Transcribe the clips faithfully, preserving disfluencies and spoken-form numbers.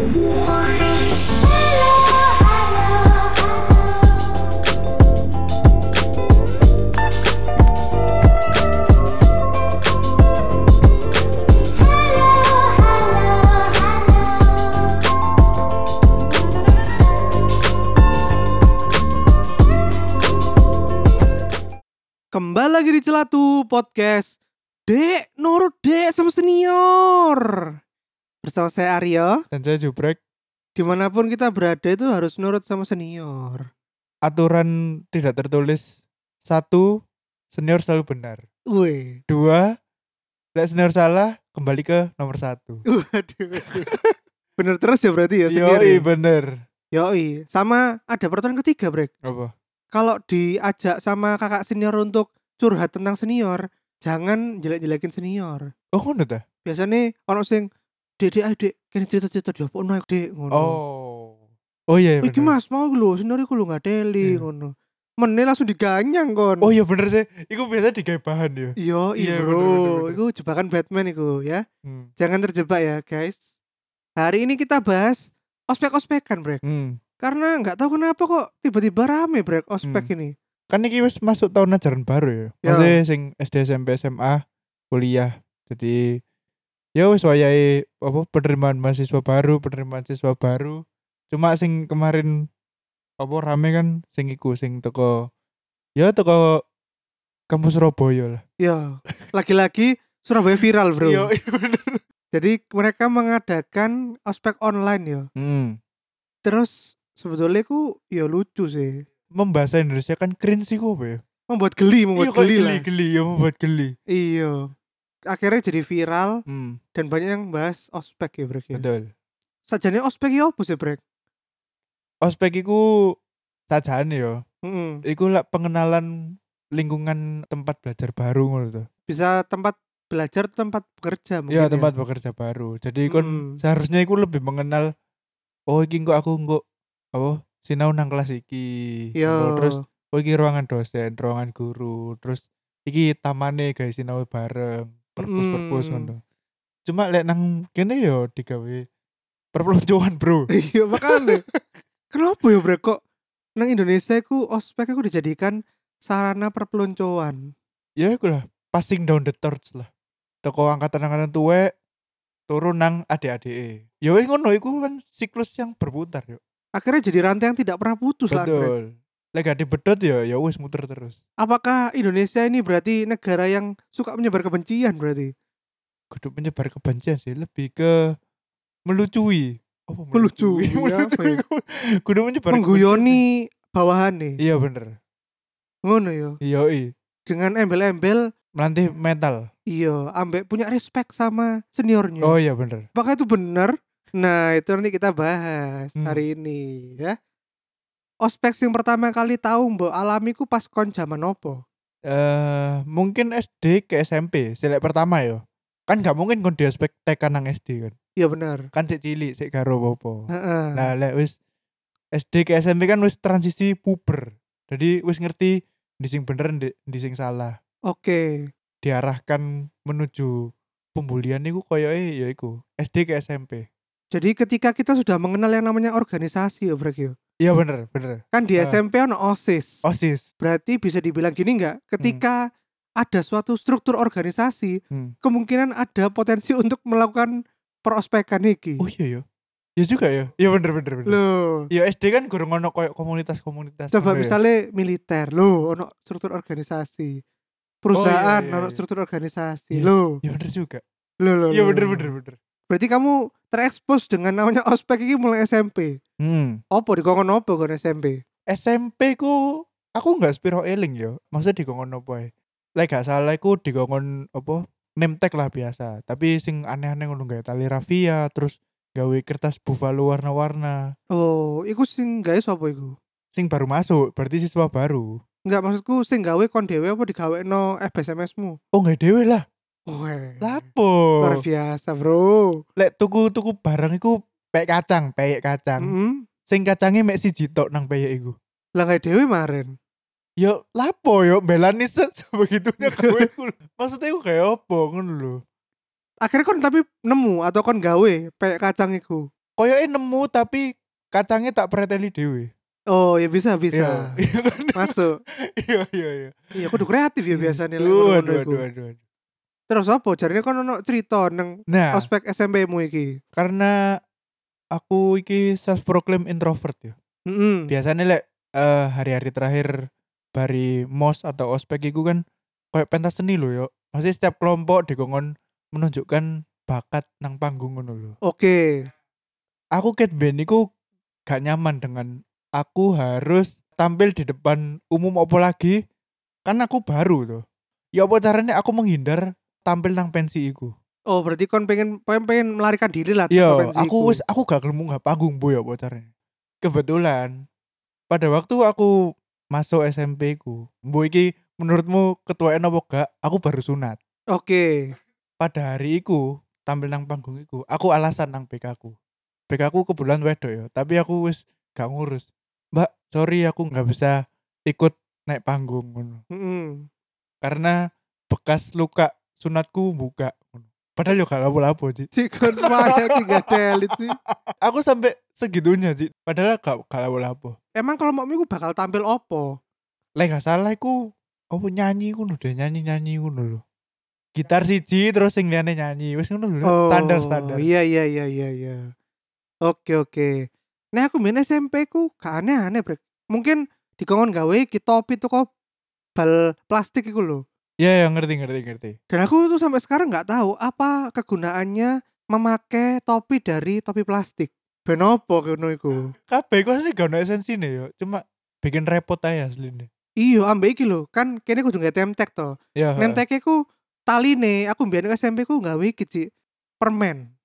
Kembali lagi di Celatu Podcast Dek, nurut dek sama senior. Bersama saya Aryo. Dan saya Jubrek. Dimanapun kita berada itu harus nurut sama senior. Aturan tidak tertulis. Satu, senior selalu benar. Wih. Dua, lek senior salah, kembali ke nomor satu. Waduh. Bener terus ya berarti ya senior. Yoi ya? bener. Yoi. Sama ada peraturan ketiga, Brek. Apa? Kalau diajak sama kakak senior untuk curhat tentang senior, jangan jelek-jelekin senior. Oh ngono ta? Biasanya orang sing dek dek ayo dek, kene cerita-cerita dia apa naik dek ngono. Oh. Oh iya Iki bener. Mas mau lho, senior iku lho ngadeli Iya. ngono. Meneh langsung diganyang kon. Oh iya bener sih. Iku biasa digawe bahan ya. Iya, Iya, iya bener, bro. bener, bener. Iku jebakan Batman iku ya. Hmm. Jangan terjebak ya, guys. Hari ini kita bahas ospek-ospekan, Brek. Hmm. Karena nggak tahu kenapa kok tiba-tiba rame, Brek, ospek Hmm. ini. Kan iki wis masuk tahun ajaran baru ya. Ya. Maksudnya sing S D, S M P, S M A, kuliah. Jadi ya wis wayahe apa penerimaan mahasiswa baru, penerimaan siswa baru. Cuma sing kemarin apa rame kan sing iku sing teko ya teko kampus Surabaya lah. Ya, lagi-lagi Surabaya viral, Bro. Iya iya, bener. Jadi mereka mengadakan ospek online ya. Hmm. Terus sebetulnya ku ya lucu sih. Membahasa Indonesia kan cringe sih apa ya? Membuat geli, membuat Iya, kok geli, geli, lah. geli, ya membuat geli. Iya. Akhirnya jadi viral Hmm, dan banyak yang bahas ospek ya, Brek ya. betul. Sajane ospek ya apa sih, Brek? Ospek iku sajane ya. Mm-mm. Iku lah pengenalan lingkungan tempat belajar baru ngono tuh. Bisa tempat belajar, tempat bekerja mungkin. Iya, ya. tempat bekerja baru. Jadi kon Hmm. seharusnya iku lebih mengenal oh iki kok aku kok apa sinau nang kelas iki. Iya. Ngono. Terus oh iki ruangan dosen, ruangan guru, terus iki tamane guys sinau bareng, perpus-perpus Mm. ngono. Cuma lek nang kene yo digawe perpeloncoan, Bro. Iya makanya. Kenapa ya, Brek, kok nang Indonesia iku ospek iku dijadikan sarana perpeloncoan. Ya iku lah, passing down the torch lah. Toko angkatan-angkatan tuwek turun nang adik-adik. Ya wis ngono iku kan siklus yang berputar yo. Akhirnya jadi rantai yang tidak pernah putus lah, Brek. Betul. Lek gak dibedot ya ya wis muter terus. Apakah Indonesia ini berarti negara yang suka menyebar kebencian berarti? Kudu menyebar kebencian sih, lebih ke melucui. Apa Melucui, apa ya? Kudu menyebar Mengguyoni bawahan nih. kebencian. Iya bener. Ngono ya. Iya iya. Dengan embel-embel Melatih mental. iya, ambek punya respect sama seniornya. Oh iya bener. Apakah itu benar? Nah, itu nanti kita bahas Hmm. hari ini ya. Ospek yang pertama kali tahu mbok alami ku pas kon zaman opo? Eh mungkin S D ke S M P, selek pertama yo. Kan gak mungkin kon di aspek T K nang S D kan. Iya benar. Kan sik cilik, sik karo apa. Heeh. Nah, lek wis S D ke S M P kan wis transisi puber. Jadi wis ngerti di sing bener di, di sing salah. Oke. Diarahkan menuju pembulian niku koyoke ya iku S D ke S M P. Jadi ketika kita sudah mengenal yang namanya organisasi ya, Brek ya. Iya bener, bener. Kan di Ah. S M P ono OSIS. OSIS. Berarti bisa dibilang gini enggak? Ketika ada suatu struktur organisasi, Hmm. kemungkinan ada potensi untuk melakukan perospekan iki. Oh iya ya. Ya juga ya. Iya bener bener bener. Loh. Ya S D kan gurung ono koyo komunitas-komunitas. Coba ngono ya. misalnya militer, loh, ono struktur organisasi. Perusahaan, Oh, iya, iya, ono iya. struktur organisasi, Iya. loh. Ya bener juga. Loh, loh, Iya loh. bener bener bener. Berarti kamu terekspos dengan namanya ospek ini mulai S M P. Hmm. Opo dikongkon opo kon S M P? S M P ku aku nggak spiro eling yo. Maksudnya dikongkon apa ya? Lek gak salah iku dikongkon apa? Name tag lah biasa. Tapi sing aneh-aneh ngono gawe tali rafia, terus gawe kertas buffalo warna-warna. Oh, iku sing gawe sapa iku? Sing baru masuk, berarti siswa baru. Enggak, maksudku sing gawe kon dhewe apa digawekno F B S M S-mu? Oh nggak dewe lah. Weh. Lapo? Luar biasa, Bro. Lek tuku-tuku barang iku peyek kacang, peyek kacang. Heeh. Sing kacangnya mek siji tok nang peyek iku. Lah gawe dhewe maren. Yo lapo yo belani set sebegitunya kowe iku. Maksudnya iku kayak opo ngono lho. Akhirnya kon tapi nemu atau kon gawe peyek kacang iku. koyoke nemu tapi kacangnya tak preteli dhewe. Oh, ya bisa Iya, bisa. iya kan? Masuk. Iya iya iya. Iya kudu kreatif ya Iya. biasanya lek Duh, ngono-ngono aduh iku. aduh aduh aduh. Terus apa jarine kon ono cerita nang Nah, ospek S M P-mu iki? karena aku iki self proclaim introvert ya. Mhm. Biasanya lek eh, hari-hari terakhir bari mos atau ospek iku kan kayak pentas seni lho yo. Maksudnya setiap kelompok dikongkon menunjukkan bakat nang panggung ngono lho. Oke. Aku ket ben iku gak nyaman dengan aku harus tampil di depan umum opo lagi kan aku baru tuh. Ya apa caranya aku menghindar tampil nang pensi iku. Oh, berarti kon pengen pengen, pengen melarikan diri lah teko Iya, pensi aku iku. wis aku gak gelem munggah panggung boy apa caranya. Kebetulan pada waktu aku masuk S M P ku, mbok iki menurutmu ketuaan apa gak? Aku baru sunat. Oke. Pada hari iku, tampil nang panggung iku, aku alasan nang B K ku. B K ku kebetulan wedok ya, tapi aku wis gak ngurus. Mbak, sorry aku nggak bisa ikut naik panggung ngono. Mhm. Karena bekas luka sunatku buka. Padahal yo gak lapo-lapo, Ci. Si kon wae iki gak delit sih. Aku sampai segitunya, Ci. Padahal gak gak lapo-lapo. Emang kelompokmu iku bakal tampil opo? Lek gak salah iku apa nyanyi ngono deh, nyanyi-nyanyi ngono lho. Gitar siji terus sing liyane nyanyi. Wis ngono lho, Oh, standar-standar. iya iya iya iya iya. Oke oke. Nah aku main S M P ku gak aneh-aneh brek. Mungkin dikongkon gawe iki topi tuh kok bal plastik iku lho. Iya, ya, ngerti ngerti ngerti. Dan aku tuh sampai sekarang nggak tahu apa kegunaannya memakai topi dari topi plastik. Ben opo ngono iku? Kabeh iku asli gak ono esensine yo, cuma bikin repot aja asline. Iya ambek iki lho, kan kene kudu nggae temtek to. Ya, heeh. Nemteke ku taline aku mbiyen S M P ku gawe iki Ci, permen.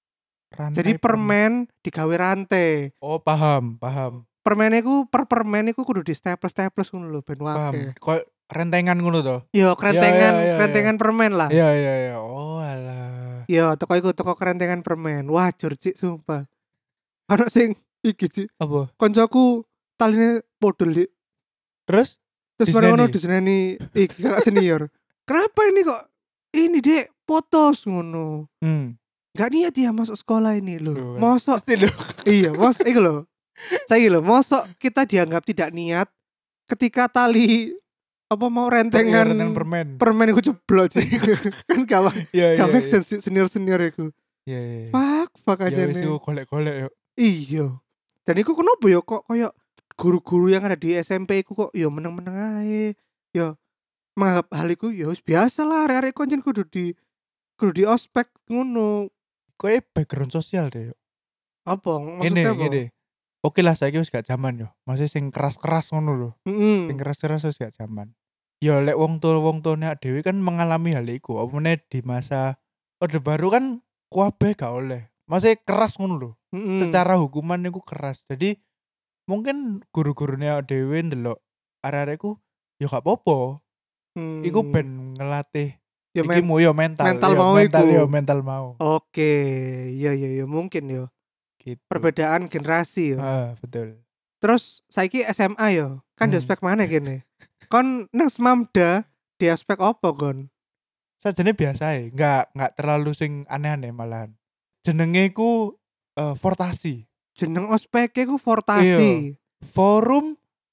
Jadi Rantai permen. permen digawe rantai. Oh, paham, paham. Permen iku per permen iku kudu di staples-staples ngono lho ben Paham. akeh. Kok rentengan ngono to? Yo Iya iya kerentengan iya iya. kerentengan permen lah. Iya iya iya. Oh, alah. Yo teko iku teko kerentengan permen. Wah jur Cik sumpah. Ono sing iki Cik, Apa? koncoku taline podol Dik. Terus Terus bareng ngono diseneni? diseneni iki kakak senior. Kenapa ini kok ini Dek potos ngono. Hmm. Gak niat ya masuk sekolah ini loh. Tuh kan. Mosok Pasti lho. iya, mos iku lho. Saya lho, mosok kita dianggap tidak niat ketika tali apa mau Iya, rentengan rentengan permen. permen iku jeblok Cik. Kan gak Iya iya. gak make iya. sense senior-senior iku. Iya iya. iya. Fuck, fuck Ya aja wis nih. iku golek-golek yo. Iya. Dan iku kenapa ya kok koyo guru-guru yang ada di S M P iku kok ya meneng-meneng ae. Ya menganggap hal iku ya wis biasa lah arek-arek konjen kudu di kudu di ospek ngono. Koe background sosial deh yo. Apa? Ngene Maksudnya apa? ngene. Oke lah saiki wis gak zaman yo. Masih sing keras-keras ngono lho. Sing Mm-mm. keras-keras wis gak zaman. Ya lek wong tua wong tuane dhewe kan mengalami hal iku. Apa meneh di masa Orde Baru kan kuabe gak oleh. Masih keras ngono lho. Mm-mm. Secara hukuman iku keras. Jadi mungkin guru-gurune dhewe ndelok arek-arekku ya gak apa-apa. Iku Hmm. ben ngelatih Ya iki men- mu yo mental. mental yo, mau mental iku. yo mental mau. Oke, iya iya iya mungkin ya. Gitu. Perbedaan generasi ya. Ah, betul. Terus saiki S M A ya. Kan di Hmm. ospek mana kene? Kon nang Smamda di ospek apa kon? Sajane biasa ya, nggak nggak terlalu sing aneh-aneh malahan. Jenenge ku eh, Fortasi. Jeneng ospeke ku Iya. Fortasi. Forum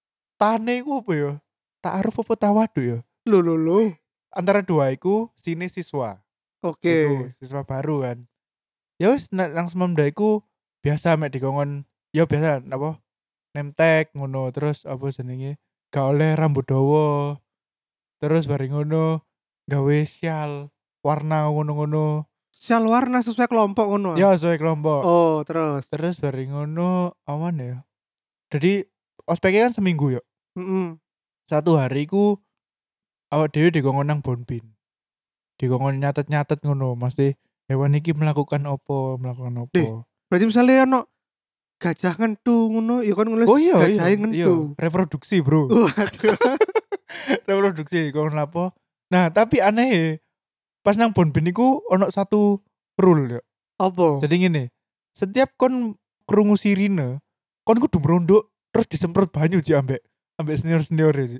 Tane ku apa ya? Ta'aruf apa tawadu ya? Lho lho lho. Antara dua iku sini siswa. Oke. Iku siswa baru kan. Ya wis nek nang Semamda iku biasa mek dikongkon ya biasa apa nemtek ngono terus apa jenenge gak oleh rambut dawa. Terus bareng ngono gawe syal warna ngono-ngono. Syal warna sesuai kelompok ngono. ah? Ya sesuai kelompok. Oh, terus. Terus bareng ngono awan ya. Jadi ospeknya kan seminggu ya. Mm-mm. Satu hari ku awak dhewe dikongkon nang Bonbin. Dikongkon nyatet-nyatet ngono, mesti hewan iki melakukan opo, melakukan opo. Deh. Berarti misalnya ono gajah ngentu ngono, ya kan nulis Oh iya iya. gajah Iya, ngentu. reproduksi, Bro. Waduh. Reproduksi kon lapo. Nah, tapi aneh ya, pas nang Bonbin iku ono satu rule ya. Apa? Jadi ngene, setiap kon krungu sirine, kon kudu merondok terus disemprot banyu Ci ambek ambek senior-senior ya. Ci.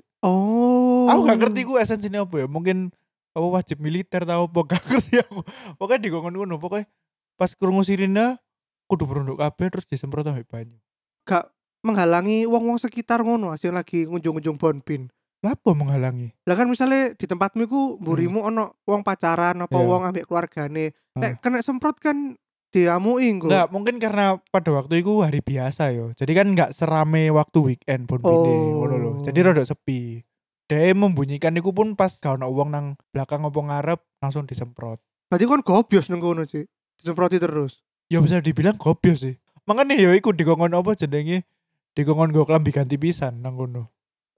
Oh. Aku gak ngerti ku esensinya apa ya. Mungkin apa wajib militer tau apa gak ngerti aku. Pokoknya dikongkon ngono, pokoknya pas krungu sirine kudu merunduk kabeh terus disemprot ambek banyu. Gak menghalangi wong-wong sekitar ngono sing lagi ngunjung-ngunjung Bonbin. Lapo menghalangi? Lah kan misale di tempatmu iku Hmm, mburimu ono wong pacaran apa iya. wong ambek keluargane. Heeh. Nek kena semprot kan diamui engko. Enggak, mungkin karena pada waktu itu hari biasa yo. Jadi kan enggak serame waktu weekend Bonbine ngono lho. Jadi Oh. rada sepi. Dia membunyikan iku pun pas gak ono wong nang belakang opo ngarep langsung disemprot. Berarti kon gobios nang kono, Cik. Disemproti terus. Ya bisa dibilang gobios sih. Makanya ya iku dikongkon apa jenenge? Dikongkon go klambi ganti pisan nang kono.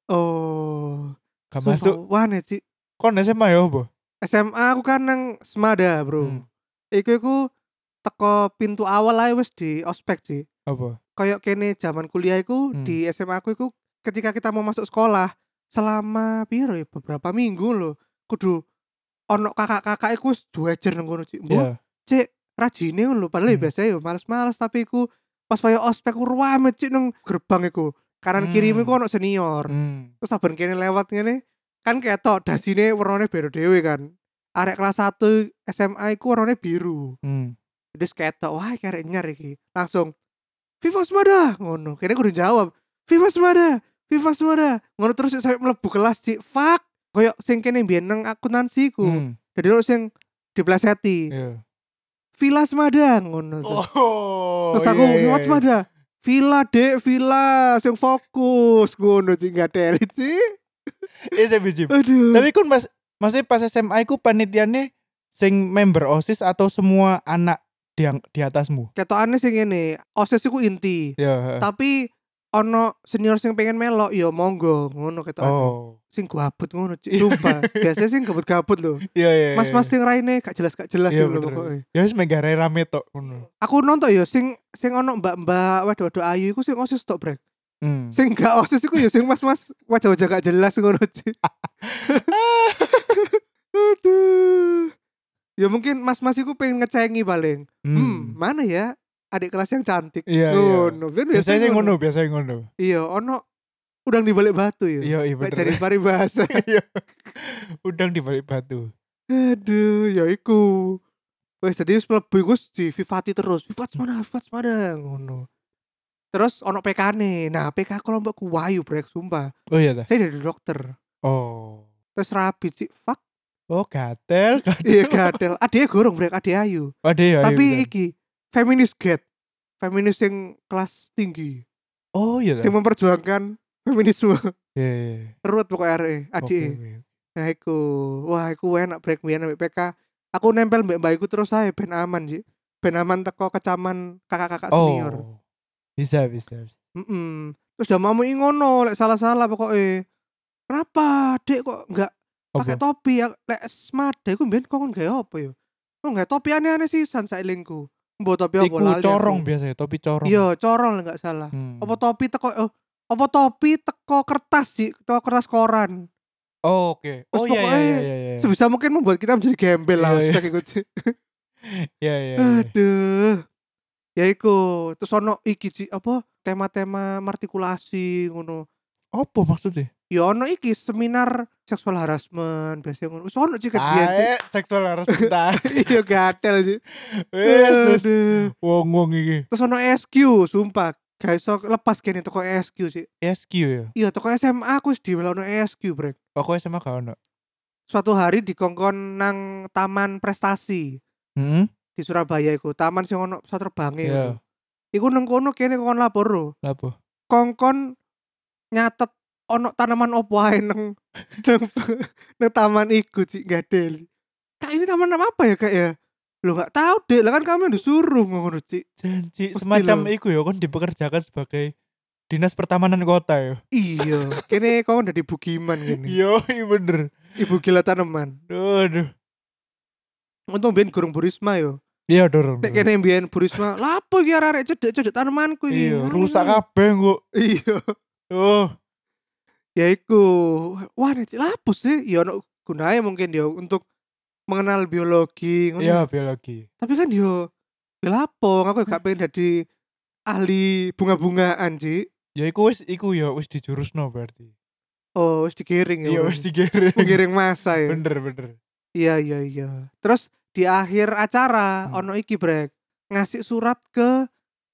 Oh. Gak Sumpah masuk. wane, Cik. Kon S M A ya apa? S M A aku kan nang Semada, Bro. Hmm. Iku iku teko pintu awal ae wis di ospek, Cik. Apa? Kayak kene zaman kuliah iku Hmm. di S M A aku iku ketika kita mau masuk sekolah selama piro ya beberapa minggu loh kudu ono kakak-kakak iku wis duejer nang kono, Cik. Mbok, Iya. Cik, rajine ngono lho padahal ya Hmm. biasa ya males-males tapi iku pas kaya ospek ku rame, Cik, nang gerbang iku. Kanan kirimu iku Hmm. ono senior. Hmm. Terus saben kene lewat ngene kan ketok dasine warnane biru dhewe kan. Arek kelas satu S M A iku warnane biru. Hmm. Terus ketok, wah karek nyar iki. Langsung Viva Semada ngono. Kene kudu jawab. Viva Semada, Viva Semada. Ngono terus sampai mlebu kelas, Cik. Fuck. Kayak sing kene mbiyen nang akuntansi ku. Hmm. Jadi ono sing dipleseti. Iya. Villa Semada ngono terus. Oh. Terus aku iya, iya, Viva iya. Semada. Villa Dek, Villa sing fokus ngono, Cik, gak teli, Cik. Iya saya bijim. Aduh. Tapi kan pas maksudnya pas S M A iku panitiane sing member OSIS atau semua anak di di atasmu? Ketokane sing ngene, OSIS iku inti. Ya, heeh. Tapi ono senior sing pengen melok ya monggo ngono ketokane. Oh. Sing gabut ngono, Cik. Sumpah. Biasanya sing gabut-gabut lho. Iya iya. iya, Mas-mas iya. sing raine gak jelas gak jelas Iya lho bener. pokoke. Ya wis megare rame tok ngono. Aku nonton ya sing sing ono mbak-mbak wedok-wedok ayu iku sing OSIS tok, Brek. Hmm. Sing gak OSIS iku ya sing mas-mas wajah-wajah gak jelas ngono, Cik. Aduh. Ya mungkin mas-mas iku pengen ngecengi paling. Hmm, Hmm. mana ya adik kelas yang cantik? Iya iya. Ngono. Biar Biasanya ngono, biasanya ngono. Iya, ono udang di balik batu ya. Iya iya Lek bener. jadi paribasa. Iya. Udang di balik batu. Aduh, ya iku. Wes dadi wis mlebu iku wis di Vivati terus. Vivat mana? Vivat mana? Ngono. Terus ono P K-ne. Nah, P K kelompokku wayu, Brek, sumpah. Oh iya dah. Saya dari dokter. Oh. Terus rapi, Cik. Fuck. Oh gatel, gatel. Iya, gadel. Adeknya gorong, Brek, adek ayu. Ada ya. Tapi iki feminis get. Feminis yang kelas tinggi. Oh iya Sing dah. memperjuangkan feminisme. Iya iya. Ruwet pokoknya arek Oke, adike. oke. Nah iku. Wah, iku enak Brek mbiyen ambek P K. Aku nempel mbek mbak iku terus ae ben aman, Cik. Ben aman teko kecaman kakak-kakak senior. Oh. Bisa bisa. bisa. Mm-mm. Terus udah mau ngono, lek salah-salah pokoknya. Kenapa, Dek, kok enggak pakai Apa? topi ya? Lek Semada iku mbiyen kok gawe apa ya? Kok enggak topi aneh-aneh sisan sailingku. Mbok topi apa Iku lali corong aku. biasanya, topi corong. Iya, corong lek enggak salah. Hmm. Apa topi teko oh, apa topi teko kertas, Cik, teko kertas koran. Oh, oke. Terus Oh iya iya pokoknya iya iya. iya. Sebisa mungkin membuat kita menjadi gembel lah Iya, iya. ospek iku, Cik. Iya iya. iya. Aduh. Ya iku, terus ono iki Cik, apa tema-tema martikulasi ngono. Apa maksudnya? Ya ono iki seminar seksual harassment biasanya ngono. Wis ono Cik ket biyen, Cik. Ae seksual harus kita. Iya gatel, Cik. Wes wes. Aduh. Wong-wong iki. Terus ono S Q, sumpah. Gak iso lepas kene toko S Q sih. S Q ya. Iya, toko S M A aku wis dimelokno S Q, Brek. Pokoknya sama gak ono. Suatu hari dikongkon nang Taman Prestasi Heeh. di Surabaya iku, taman sing ono pesawat terbange Iya. ngono. Iku nang kono kene kongkon lapor lho. Lapo? Kongkon nyatet ono tanaman opo ae nang nang, nang taman iku, Cik, gadel. Kak, ini taman apa ya, Kak ya? Lo gak tahu deh, lah kan kami disuruh ngono, Cik. Janji Mesti semacam lho. iku ya kon dipekerjakan sebagai dinas pertamanan kota ya. Iya, kene kongkon dadi bugiman kene. Yo, iya bener. Ibu gila tanaman. Aduh. Untung biyen gurung Burisma yo. Iya dorong. Nek kene mbiyen Burisma, lapo iki arek-arek cedek-cedek tanamanku iki. Iya, Nganu, rusak nganu. kabeh kok. Iya. Oh. Ya iku. Wah, nek lapo sih? Ya ono gunanya mungkin ya untuk mengenal biologi ngono. Iya, biologi. Tapi kan yo ya lapo, aku gak pengen jadi ahli bunga-bungaan, Cik. Ya iku wis iku ya wis dijurusno berarti. Oh, wis digiring ya. Iya wis digiring. Menggiring masa ya. Bener bener. Iya iya iya. Terus di akhir acara Hmm. ono iki, Brek. Ngasih surat ke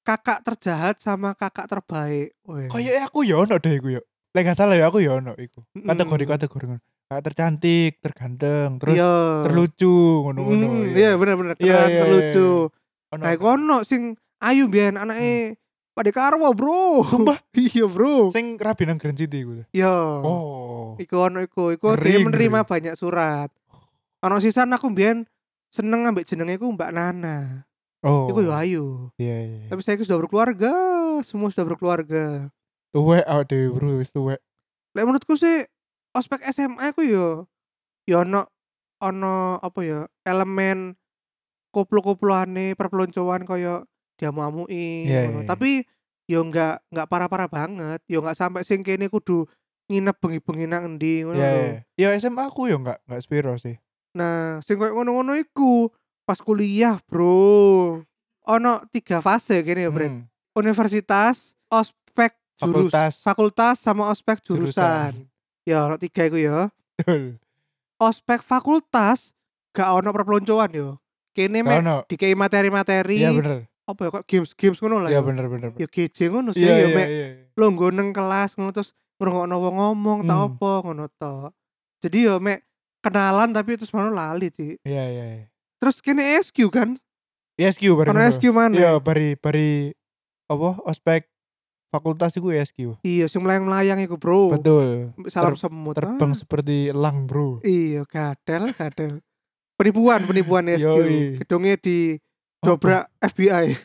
kakak terjahat sama kakak terbaik. Weh. Kayaknya aku ya ono deh iku yo. Lek gak salah ya aku ya ono iku. Mm-mm. Kategori-kategori ngono. Kakak tercantik, terganteng, terus Iya. terlucu ngono-ngono Mm, ya. iya bener-bener Iya keren iya. terlucu. Ono Nah, ono. iku ono sing ayu biyen anake Pak Dekarwo, Bro. Sumpah Iya, Bro. sing rabi nang Grand City iku. Iya. Oh. Iku ono iku, iku Ngeri, dia menerima ngeri. banyak surat. Ono sisan aku biyen seneng ambek jenenge iku Mbak Nana. Iku yo Oh. ayu. Iya iya. Tapi saya sudah berkeluarga, semua sudah berkeluarga. Tuwek awake dhewe bro, wis tuwek. Lek menurutku sih ospek S M A ku yo yo ono ono apa ya elemen koplo-koploane perpeloncoan koyo diamu-amui Iya ngono. iya. Tapi yo enggak enggak parah-parah banget, yo enggak sampai sing kene kudu nginep bengi-bengi nang endi ngono Iya lho. iya. Ya S M A aku yo enggak enggak sepiro sih. Nah, sing koyo ngono-ngono iku pas kuliah, Bro. Ono tiga fase kene ya, Bret. Hmm. Universitas, ospek jurus, Fakultas. fakultas sama ospek Jurusan. jurusan. Ya, ono tiga iku ya. Betul. Ospek fakultas gak ono perpeloncoan yo. Kene Gak mek ono. dikei materi-materi Iya bener. apa ya kok games-games ngono lah Iya yo. bener bener. Ya G J ngono sih Iya yo iya mek iya. longgo nang kelas ngono terus ngrungokno wong ngomong tak Hmm. apa ngono tok. Jadi yo mek kenalan tapi terus ngono lali sih. Iya iya iya. Terus kene S Q kan? I S Q bareng Ono ngono. S Q mana? Iya bari bari apa ospek fakultas iku I S Q. Iya, sing melayang-melayang iku, Bro. Betul. Salam Ter- semut. Terbang Ah. seperti elang, Bro. Iya, gadel, gadel. Penipuan, penipuan S Q. Yoi. Gedungnya di Apa? dobrak F B I.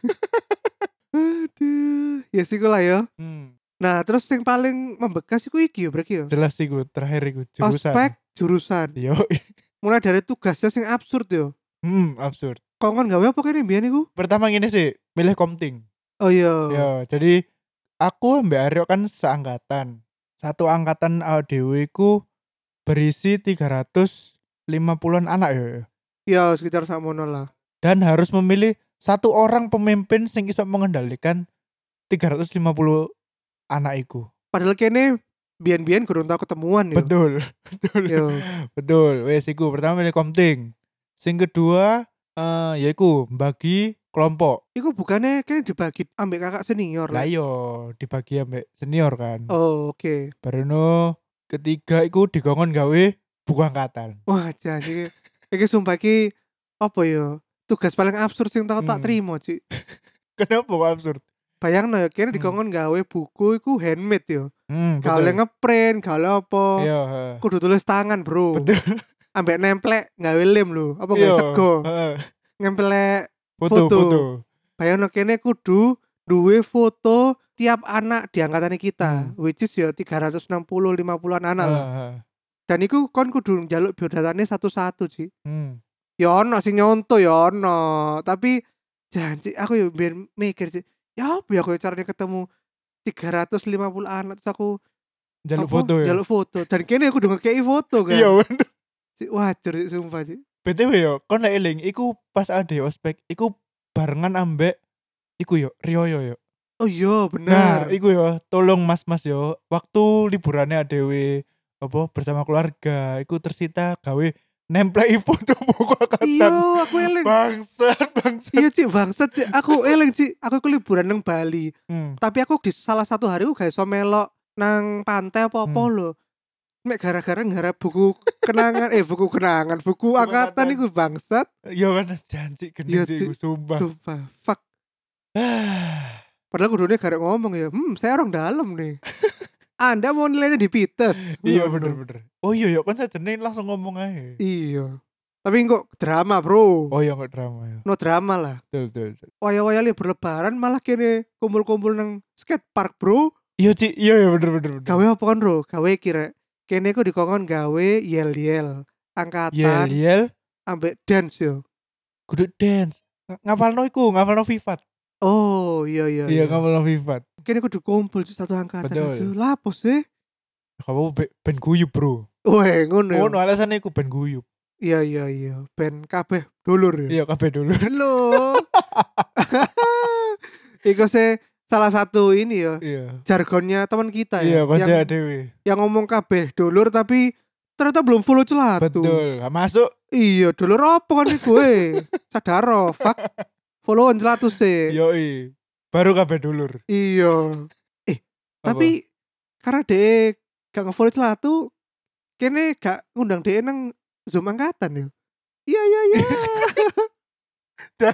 Aduh, ya sih lah ya. Hmm. Nah, terus yang paling membekas iku iki ya, berarti ya. Jelas iku terakhir iku jurusan. Ospek jurusan. Yoi. Mulai dari tugasnya sing absurd yo. Hmm, absurd. Kok kan gawe apa kene mbiyen iku? Pertama gini sih, milih komting. Oh iya. Ya, jadi aku Mbak Aryo kan seangkatan. Satu angkatan awake dhewe iku berisi tiga ratus lima puluhan anak ya. Ya, sekitar samono lah. Dan harus memilih satu orang pemimpin sing iso mengendalikan tiga ratus lima puluh anak iku. Padahal kene biyen-biyen gurung tau ketemuan yo. Betul. Betul. Yo. Betul. Wes iku pertama milih komting. Sing kedua eh yaiku bagi kelompok. Iku bukannya kene dibagi ambek kakak senior Lah lah. iya dibagi ambek senior kan. Oh, oke. Okay. Baruno ketiga iku dikongkon gawe buku angkatan. Wah, jadi iki sumpah iki apa ya? Tugas paling absurd sing tau tak Hmm. terima, Cik. Kenapa kok absurd? Bayangno ya, kene Hmm. dikongkon gawe buku iku handmade yo. Hmm, Gak oleh betul. ngeprint, gak oleh apa. Iya, heeh. Kudu tulis tangan, Bro. Betul. Ambek nemplek gawe lem lho, apa Iya, gawe sego. heeh. Ngemplek Foto, Foto. foto. bayangno kene kudu duwe foto tiap anak di angkatan kita, Hmm. which is ya tiga ratus enam puluh lima puluhan anak lah. Heeh. Dan iku kon kudu njaluk biodatane satu-satu sih. Hmm. Ya ono sing nyonto ya ono, tapi janji aku ya biar mikir sih. Ya apa ya aku caranya ketemu tiga ratus lima puluh anak terus aku Jaluk apa, foto ya. Jaluk foto. Dan kene aku udah ngekei foto kan. Iya bener. Cik, wajar sih sumpah sih. B T W yo, kon nek eling iku pas ade ospek iku barengan ambek iku yo Rioyo yo. Oh iya Nah, bener. iku yo tolong mas-mas yo waktu liburannya adewe apa bersama keluarga iku tersita gawe nemplei foto buku Iya angkatan. aku eling. Bangsat, bangsat. Iya Cik bangsat Cik. Aku eling Cik. Aku ku liburan nang Bali. Hmm. Tapi aku di salah satu hari aku gak iso melok nang pantai apa-apa Hmm. lho. Mek gara-gara ngarep buku kenangan eh buku kenangan, buku angkatan angkatan. iku bangsat. Yo kan janji Iya, gendeng sih iku Cik. sumpah. Sumpah. Fuck. Padahal kudune garek ngomong ya, hmm saya orang dalam nih. Anda mau nilainya di Pites. Iya Ngono. bener-bener. Oh iya yo kan sajane langsung ngomong aja. Iya. Tapi kok drama, Bro. Oh iya enggak drama ya. No drama lah. Betul betul. betul. Waya-waya libur lebaran malah kene kumpul-kumpul nang skate park, Bro. Iya Ci, iya iya bener bener bener. Gawe apa kan, Bro? Gawe kira. Kene ku dikongkon gawe yel-yel. Angkatan Yel yel ambek dance yo. kudu dance. Ng- Ngapalno iku, ngapalno Vivat. Oh, iya iya. Iya, ngapalno Vivat. Kene kudu kumpul Cuk, satu angkatan. Betul. Aduh, lapo sih? Kamu be- ben guyub, Bro. Weh, ngono ya. Ngono alasannya iku ben guyub. Iya iya iya. Ben kabeh dulur ya. Iya, kabeh dulu. Halo. Iku sih salah satu ini ya Iya. jargonnya teman kita Iya, ya kanca yang, dhewe. yang ngomong kabeh dulur tapi ternyata belum follow celatu. Betul, gak masuk. Iya dulur apa kan gue sadaro fuck followan celatu sih. Yoi. baru kabeh dulur. Iya. Eh, Apa? tapi karena dhek gak nge-follow Celatu, kene gak ngundang dhek nang Zoom angkatan yo. Iya iya iya. Dan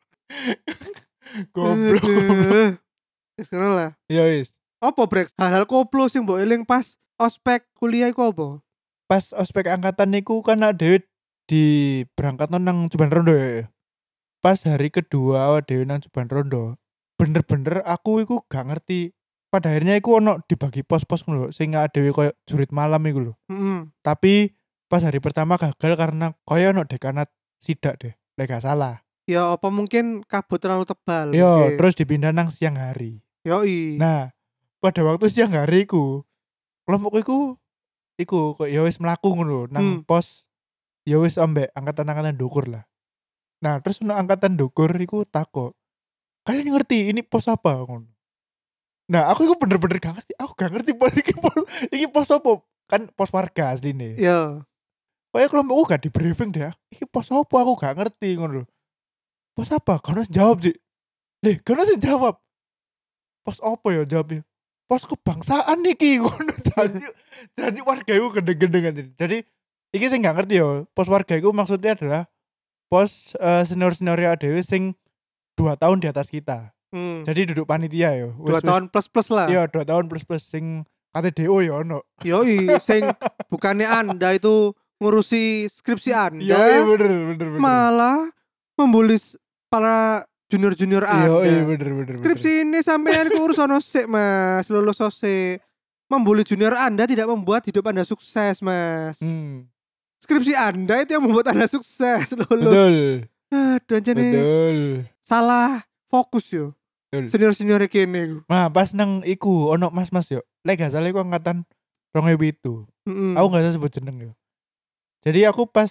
goblok goblok. Aduh. Wis ngono lah. Ya wis. Apa brek hal-hal koplo sing mbok eling pas ospek kuliah iku apa? Pas ospek angkatan niku kan awake dhewe di berangkatno nang Juban Rondo ya. Pas hari kedua awake dhewe nang Juban Rondo, bener-bener aku iku gak ngerti. Pada akhirnya iku ono dibagi pos-pos ngono lho, sing awake dhewe koyo jurit malam iku lho. Heeh. Tapi pas hari pertama gagal karena koyo ono dekanat sidak deh, lek gak salah. Ya apa mungkin kabut terlalu tebal Yo, mungkin. terus dipindah nang siang hari. Yoi. Nah, pada waktu siang hari iku, kelompokku iku iku kok ya wis mlaku ngono lho, nang Hmm. pos ya wis ambek angkatan-angkatan ndukur lah. Nah, terus ono angkatan ndukur iku takok, "Kalian ngerti ini pos apa?" ngono. Nah, aku iku bener-bener gak ngerti. Aku gak ngerti pos iki pos iki pos apa? Kan pos warga asline. Ya. Kayak kelompokku gak di briefing deh. Iki pos apa aku gak ngerti ngono lho. Pos apa? Gak ono sing jawab, Dik. Lih, gak ono sing jawab. Pos apa ya jawabnya? Pos kebangsaan iki ngono. Janji janji warga iku gendeng-gendeng anjir. Jadi iki sing gak ngerti ya. Pos warga iku maksudnya adalah pos uh, senior-senior dhewe sing dua tahun di atas kita. Hmm. Jadi duduk panitia ya. Dua tahun plus-plus lah. Iya, dua tahun plus-plus sing K T D O ya ono. Yoi, sing bukannya Anda itu ngurusi skripsi Anda, Iya, bener bener bener. malah membuli s- para junior-junior Iya, Anda. iya bener bener. Skripsi ini sampean kurus ono sik, Mas, lulus sose. Membuli junior Anda tidak membuat hidup Anda sukses, Mas. Hmm. Skripsi Anda itu yang membuat Anda sukses, lulus. Betul. Aduh, anjene Betul. salah fokus yo. Betul. Senior-senior kene iku. Nah, pas nang iku ono mas-mas yo. Lek gak salah iku angkatan dua ribu itu. Heeh. Aku gak usah sebut jeneng yo. Jadi aku pas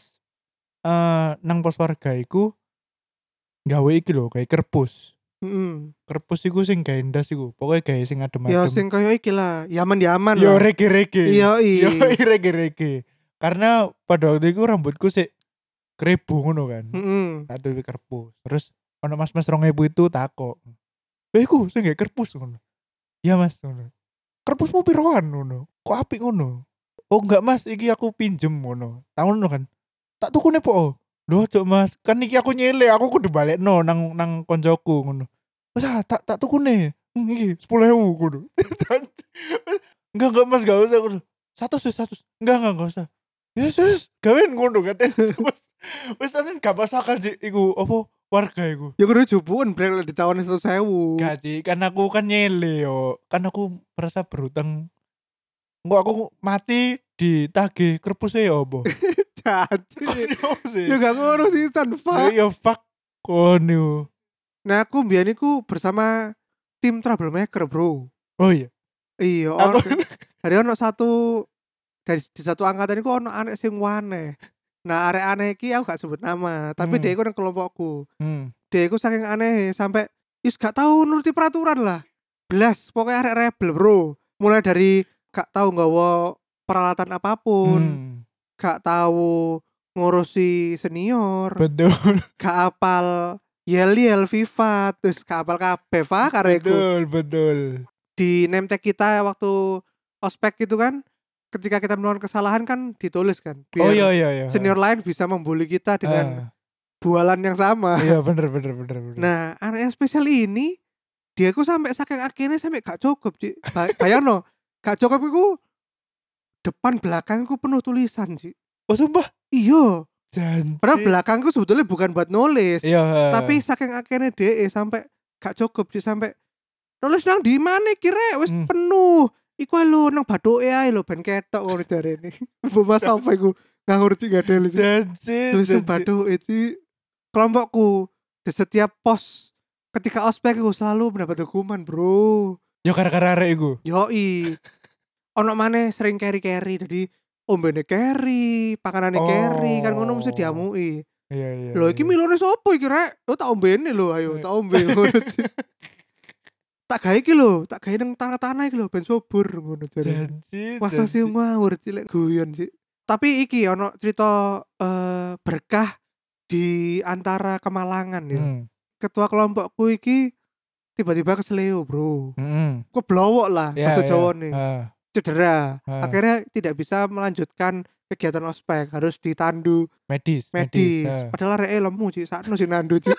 uh, nang pos warga iku gawe iki lho, kayak kerpus. Heeh. Kerpus iku sing gawe ndas iku. Pokoknya gawe sing adem-adem. Ya sing koyo iki lah, Yaman-yaman Yo lah. rege-rege. Iya, iya. Yo rege-rege. Karena pada waktu itu rambutku sih keribu ngono kan. Heeh. Tak duwe kerpus. Terus ono mas-mas dua ribu itu takok. "Eh iku sing gawe kerpus ngono." "Iya Mas." ngono. "Kerpusmu piroan?" ngono. "Kok apik ngono?" "Oh enggak Mas, iki aku pinjem ngono." Tak ngono kan. "Tak tukune po." "Lho ojo Mas, kan iki aku nyele, aku kudu balekno nang nang koncoku ngono." "Wes ah, tak tak tukune. Hmm, iki sepuluh ribu ngono." "Enggak enggak Mas, gak usah ngono." "Satu wis satu." "Enggak enggak enggak usah." "Yes yes, gawean ngono kan." Wes wis anen gak masuk akal sih iku apa warga iku. Ya kudu jupuan brek di tahun seratus ribu. Gak sih, kan aku kan nyele yo. Kan aku merasa berutang. Engko aku mati ditagih kerpusnya ya apa? Jadi ya gak ngono sih Ya Pak. ya fuck kon yo. Nah aku mbiyen iku bersama tim troublemaker, Bro. Oh iya. Iya, Aku ono dari ono satu dari di satu angkatan iku ono anek sing aneh. Nah, arek aneh iki aku gak sebut nama, tapi Hmm. dia iku nang kelompokku. Hmm. Dia iku saking aneh sampai wis gak tahu nuruti peraturan lah. Blas, pokoknya arek rebel, Bro. Mulai dari gak tahu nggawa peralatan apapun, Hmm. gak tahu ngurusi senior, Betul. gak apal yel-yel FIFA, terus gak apal kabeh Pak kareku. Betul, betul. Di name tag kita waktu ospek gitu kan, ketika kita melakukan kesalahan kan ditulis kan, Oh biar iya iya iya. senior lain bisa membuli kita dengan Ah, bualan yang sama. iya bener bener bener bener. Nah, anak yang spesial ini dia ku sampai saking akhirnya sampai gak cukup, Ci. Ba- Bayangno, gak cukup iku depan belakangku penuh tulisan, Ci. Oh sumpah. Iya, Janji. padahal belakangku sebetulnya bukan buat nulis. Iya. Tapi saking akhirnya D E sampai gak cukup, Ci, sampai nulis nang di mana kira wis Hmm. penuh. Iku ae lho nang bathuke ae lho ben ketok ngono jarene. Mbok mas apa iku nggak ngerti gak ada lagi. Janji. Terus nang janji. bathuke iki kelompokku di setiap pos ketika ospek aku selalu mendapat hukuman, Bro. Ya gara-gara arek iku. Yoi. Ono maneh sering carry-carry jadi ombene carry, pakanane carry kan ngono mesti Oh. diamuki. Iya iya. Lho iki iya. milone sapa iki rek? Oh tak ombene lho ayo Eh. tak ombe ngono. Tak gawe iki lho, tak gawe nang tanah-tanah iki lho ben subur ngono jare. Janji. Masa sih janji. ngawur cilek guyon sih. Tapi iki ono cerita eh, berkah di antara kemalangan ya. Hmm. Ketua kelompokku iki tiba-tiba keseleo, Bro. Mhm. Keblowok lah Iya bahasa iya, Jawane. heeh. Cedera. Heeh. Akhirnya tidak bisa melanjutkan kegiatan ospek, harus ditandu Medis medis, medis. heeh. Padahal areke lemu, Cuk, sakno sing nandu, Cuk.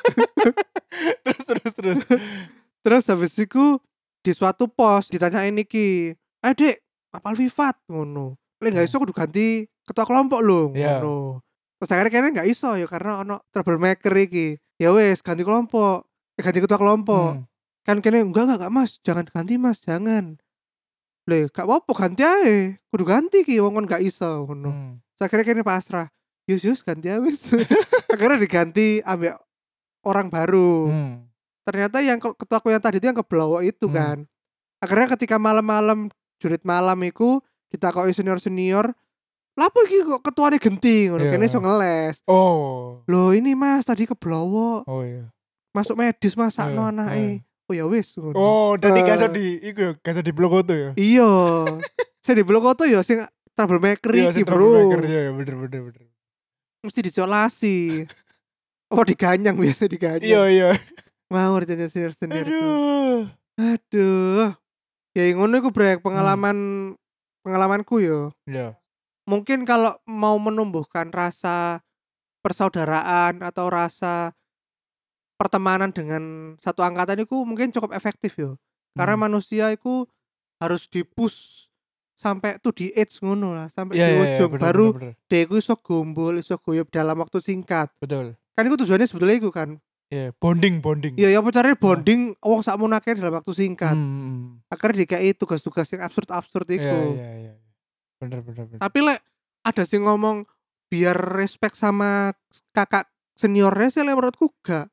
Terus terus terus? Terus habis iku di suatu pos ditanyain iki, "Ayo Dik, apal Vivat?" ngono. "Lek gak Heeh. iso kudu ganti ketua kelompok lho," Iya. ngono. Terus akhirnya kene gak iso ya karena ono troublemaker iki. Ya wis ganti kelompok, eh, ganti ketua kelompok. Mmm. Kan kene, "Enggak enggak, Mas, jangan ganti Mas, jangan." "Lho, gak apa-apa ganti ae, kudu ganti iki wong kon gak iso," ngono. Mmm. Terus akhirnya kene pasrah, "Yus yus ganti ae wis." Akhirnya diganti ambek orang baru. Mmm. Ternyata yang ke ketuaku yang tadi itu yang keblowok itu Mmm. kan. Akhirnya ketika malam-malam jurit malam iku ditakoki senior-senior, "Lapo iki kok ketuane genti?" ngono. Iya, Kene iso heeh. ngeles. Oh. "Loh ini Mas, tadi keblowok. Oh iya. Masuk medis Mas, sakno Heeh heeh. anake." "Oh ya wis," ngono. Oh, dadi gak iso Heeh. di iku ya, gak iso diblokoto ya? Iya. Sing diblokoto ya sing troublemaker Iya, iki, sing troublemaker, Bro. iya iya, bener bener bener. Mesti diisolasi. Apa diganyang, biasa Iya diganyang. iya. Ngawur jadinya senior-senior iku. Aduh. Aduh. Ya ngono iku, Brek, Mmm. pengalaman pengalamanku ya. Iya. Mungkin kalau mau menumbuhkan rasa persaudaraan atau rasa pertemanan dengan satu angkatan iku mungkin cukup efektif yo. Karena Mmm. manusia iku harus di-push sampai to the edge ngono lah, sampai Iya di iya iya, ujung bener bener baru bener. dia iku iso gombol, iso guyub dalam waktu singkat. Betul. Kan iku tujuannya sebetulnya iku kan. Iya, bonding bonding. Iya, ya apa carane Heeh. bonding wong sakmono akeh dalam waktu singkat. Mmm, mhm. Akhirnya dikai tugas-tugas yang absurd-absurd Iya iku. iya iya. Bener bener bener. Tapi lek ada sing ngomong biar respect sama kakak seniornya sih lek menurutku gak.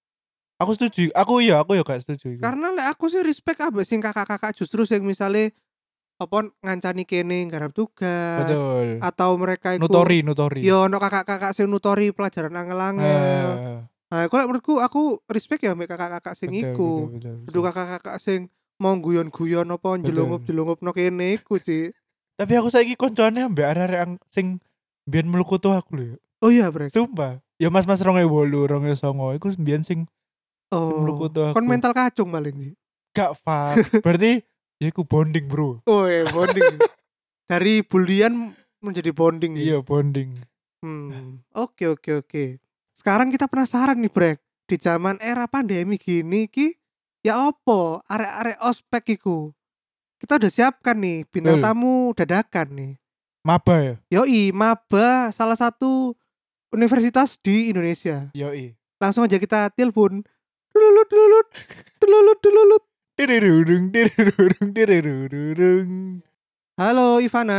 Aku setuju, aku iya, aku ya gak setuju iku. Karena lek aku sih respect ambek sing kakak-kakak justru sing misale apa ngancani kene nggarap tugas Betul. atau mereka iku Nutori nutori. ya ono kakak-kakak sing nutori pelajaran angel-angel. Heeh. Nah, iku lek menurutku aku respect ya ambek kakak-kakak sing Betul betul iku. betul Kudu betul. kakak-kakak sing mau guyon-guyon apa Betul. njelungup-jelungupno kene iku, Cik. Tapi aku saiki koncone ambek arek-arek ang sing mbiyen mlukutu aku lho. Oh iya, Brek? Sumpah, ya mas-mas rong ewu wolu, rong ewu songo iku mbiyen sing sing Oh, mlukutu kon aku. mental kacung paling sih. Gak, Fak. Berarti ya iku bonding, Bro. Oh ya bonding. Dari bulian menjadi bonding ya. Iya, bonding. Hmm, oke oke oke. Sekarang kita penasaran nih, Brek. Di zaman era pandemi gini ki, ya opo arek-arek ospek iku? Kita udah siapkan nih bintang Betul. tamu dadakan nih. Maba ya? Yoi, maba salah satu universitas di Indonesia. Yoi. Langsung aja kita telepon. Dululut dululut. Dululut dululut. Direrudung direrudung direrudung. Halo Ivana.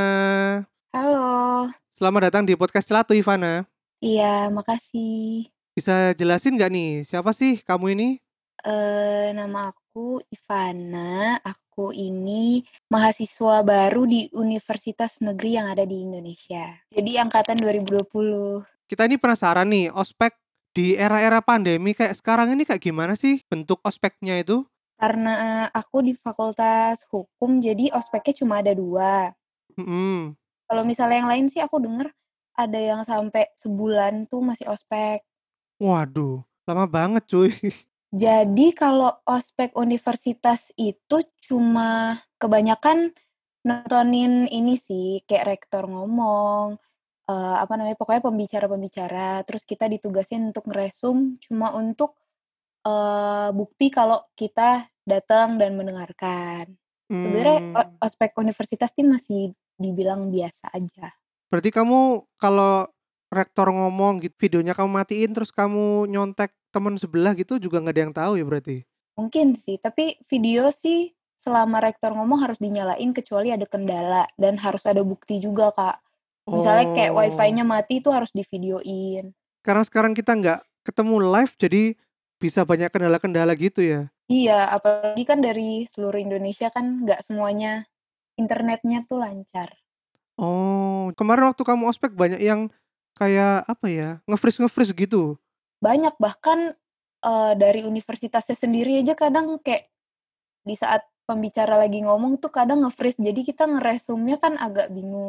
Halo. Selamat datang di podcast Celatu, Ivana. Iya, makasih. Bisa jelasin nggak nih, siapa sih kamu ini? Eee, nama aku Ivana. Aku ini mahasiswa baru di universitas negeri yang ada di Indonesia. Jadi angkatan dua ribu dua puluh. Kita ini penasaran nih, ospek di era-era pandemi kayak sekarang ini kayak gimana sih bentuk ospeknya itu? Karena aku di fakultas hukum, jadi ospeknya cuma ada dua. Mhm. Kalau misalnya yang lain sih aku denger ada yang sampai sebulan tuh masih ospek. Waduh, lama banget cuy. Jadi kalau ospek universitas itu cuma kebanyakan nontonin ini sih, kayak rektor ngomong, eee, apa namanya, pokoknya pembicara-pembicara, terus kita ditugasin untuk ngeresum cuma untuk, eee, bukti kalau kita datang dan mendengarkan. Sebenarnya o Mmm. ospek universitas sih masih dibilang biasa aja. Berarti kamu kalau rektor ngomong gitu, videonya kamu matiin terus kamu nyontek temen sebelah gitu juga nggak ada yang tahu ya berarti? Mungkin sih, tapi video sih selama rektor ngomong harus dinyalain kecuali ada kendala dan harus ada bukti juga, Kak. Misalnya kayak Oh. Wi-Fi-nya mati itu harus divideoin. Karena sekarang kita nggak ketemu live jadi bisa banyak kendala-kendala gitu ya? Iya, apalagi kan dari seluruh Indonesia kan nggak semuanya internetnya tuh lancar. Oh, kemarin waktu kamu ospek banyak yang kayak apa ya, nge-freeze-nge-freeze gitu? Banyak, bahkan, eee, dari universitasnya sendiri aja kadang kayak di saat pembicara lagi ngomong tuh kadang nge-freeze, jadi kita ngeresumnya kan agak bingung.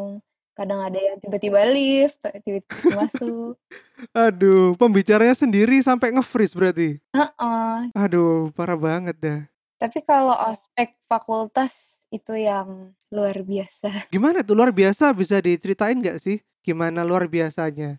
Kadang ada yang tiba-tiba lift, tiba-tiba masuk. Aduh, pembicaranya sendiri sampai nge-freeze berarti? Heeh. Aduh, parah banget dah. Tapi kalau ospek fakultas itu yang luar biasa. Gimana tuh luar biasa, bisa diceritain nggak sih gimana luar biasanya?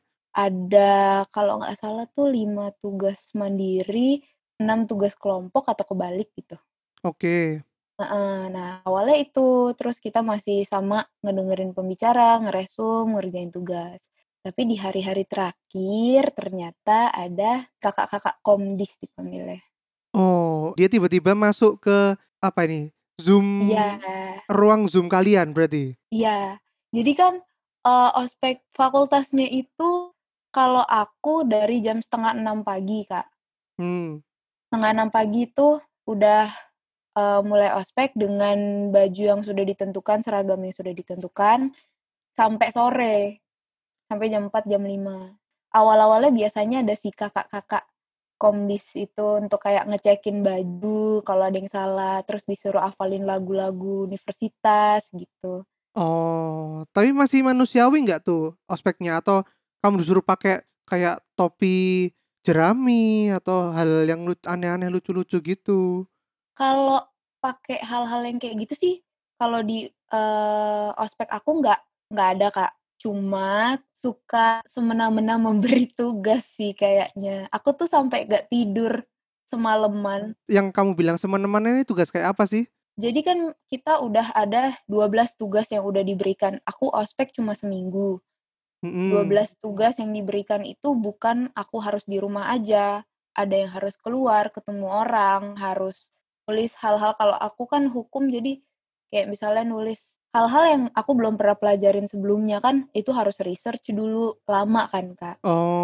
Ada kalau nggak salah tuh lima tugas mandiri, enam tugas kelompok atau kebalik gitu. Oke. Heeh. Nah, awalnya itu, terus kita masih sama ngedengerin pembicara, ngeresum, ngerjain tugas. Tapi di hari-hari terakhir ternyata ada kakak-kakak komdis dipanggilnya. Oh, dia tiba-tiba masuk ke apa ini? Zoom, Iya. ruang Zoom kalian berarti? Iya. Jadi kan, eee, ospek fakultasnya itu kalau aku dari jam setengah enam pagi, Kak. Hmm. Setengah enam pagi itu udah, eee, mulai ospek dengan baju yang sudah ditentukan, seragam yang sudah ditentukan, sampai sore. Sampai jam empat, jam lima. Awal-awalnya biasanya ada si kakak-kakak komdis itu untuk kayak ngecekin baju kalau ada yang salah, terus disuruh hafalin lagu-lagu universitas gitu. Oh, tapi masih manusiawi nggak tuh ospeknya? Atau kamu disuruh pakai kayak topi jerami atau hal yang lut aneh-aneh, lucu-lucu gitu? Kalau pakai hal-hal yang kayak gitu sih, kalau di, eee, ospek aku nggak nggak ada, Kak. Cuma suka semena-mena memberi tugas sih kayaknya. Aku tuh sampai nggak tidur semalaman. Yang kamu bilang semena-mena ini tugas kayak apa sih? Jadi kan kita udah ada dua belas tugas yang udah diberikan. Aku ospek cuma seminggu. Mhm. dua belas tugas yang diberikan itu bukan aku harus di rumah aja, ada yang harus keluar, ketemu orang, harus nulis hal-hal kalau aku kan hukum jadi kayak misalnya nulis hal-hal yang aku belum pernah pelajarin sebelumnya kan itu harus research dulu, lama kan, Kak.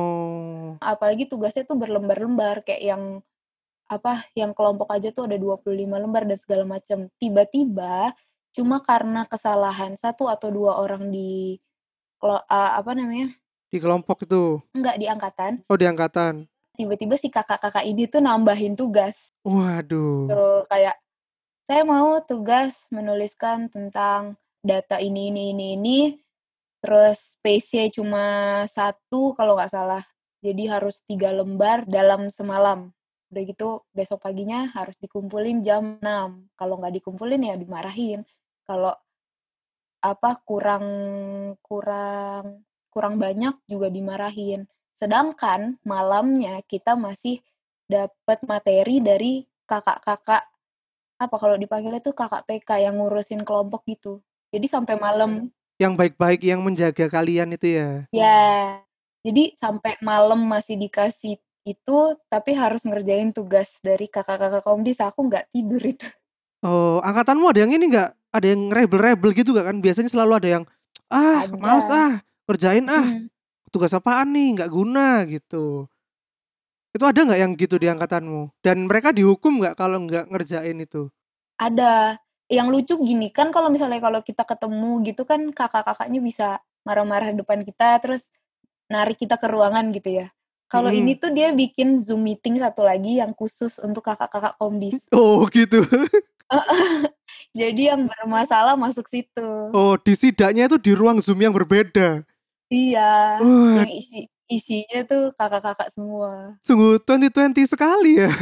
Oh. Apalagi tugasnya tuh berlembar-lembar kayak yang apa, yang kelompok aja tuh ada dua puluh lima lembar dan segala macam. Tiba-tiba cuma karena kesalahan satu atau dua orang di kelo eee, apa namanya, Di kelompok itu? enggak di angkatan, Oh, di angkatan? tiba-tiba si kakak-kakak ini tuh nambahin tugas. Waduh. Tuh kayak, "Saya mau tugas menuliskan tentang data ini ini ini ini," terus space-nya cuma satu kalau nggak salah. Jadi harus tiga lembar dalam semalam. Udah gitu besok paginya harus dikumpulin jam enam. Kalau nggak dikumpulin ya dimarahin. Kalau apa, kurang kurang kurang banyak juga dimarahin. Sedangkan malamnya kita masih dapat materi dari kakak-kakak, apa kalau dipanggilnya tuh kakak P K yang ngurusin kelompok gitu. Jadi sampai malam. Yang baik-baik yang menjaga kalian itu ya? Ya, jadi sampai malam masih dikasih itu, tapi harus ngerjain tugas dari kakak-kakak komdis, aku nggak tidur itu. Oh, angkatanmu ada yang ini nggak? Ada yang rebel-rebel gitu nggak kan? Biasanya selalu ada yang, "Ah, males Ada. ah, kerjain ah, Mhm. tugas apaan nih, nggak guna," gitu. Itu ada nggak yang gitu di angkatanmu? Dan mereka dihukum nggak kalau nggak ngerjain itu? Ada. Yang lucu gini, kan kalau misalnya kalau kita ketemu gitu kan kakak-kakaknya bisa marah-marah depan kita, terus narik kita ke ruangan gitu ya. Kalau ini Mhm. tuh dia bikin Zoom meeting satu lagi yang khusus untuk kakak-kakak komdis. Oh, gitu. Heeh. Jadi yang bermasalah masuk situ. Oh, disidaknya itu di ruang Zoom yang berbeda? Iya, Wah, yang isi isinya tuh kakak-kakak semua. sungguh dua ribu dua puluh sekali ya.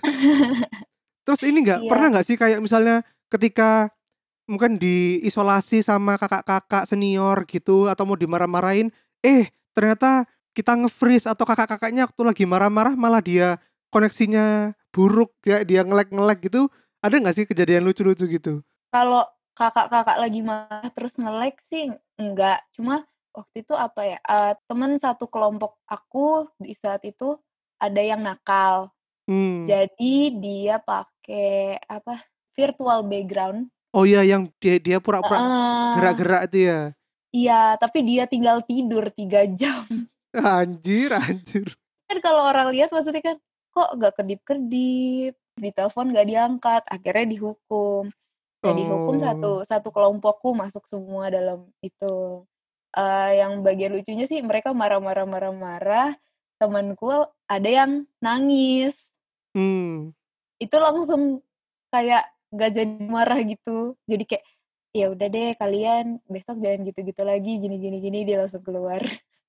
Terus ini nggak, Iya. pernah nggak sih kayak misalnya ketika mungkin diisolasi sama kakak-kakak senior gitu atau mau dimarah-marahin, eh ternyata kita nge-freeze atau kakak-kakaknya waktu lagi marah-marah malah dia koneksinya buruk, kayak dia nge-lag-nge-lag gitu, ada nggak sih kejadian lucu-lucu gitu? Kalau kakak-kakak lagi marah terus nge-lag sih enggak, cuma waktu itu apa ya, eee, temen satu kelompok aku di saat itu ada yang nakal. Hmm. Jadi dia pakai apa, virtual background. Oh iya, yang dia dia pura-pura Heeh. gerak-gerak itu ya? Iya, tapi dia tinggal tidur tiga jam. Anjir anjir. Kan kalau orang lihat maksudnya kan, kok nggak kedip-kedip, ditelepon nggak diangkat, akhirnya dihukum. Nah, dihukum Oh. satu satu kelompokku masuk semua dalam itu. Eee, yang bagian lucunya sih mereka marah-marah marah-marah, temenku ada yang nangis. Hmm. Itu langsung kayak nggak jadi marah gitu. Jadi kayak, ya udah deh kalian besok jangan gitu-gitu lagi gini gini gini, dia langsung keluar.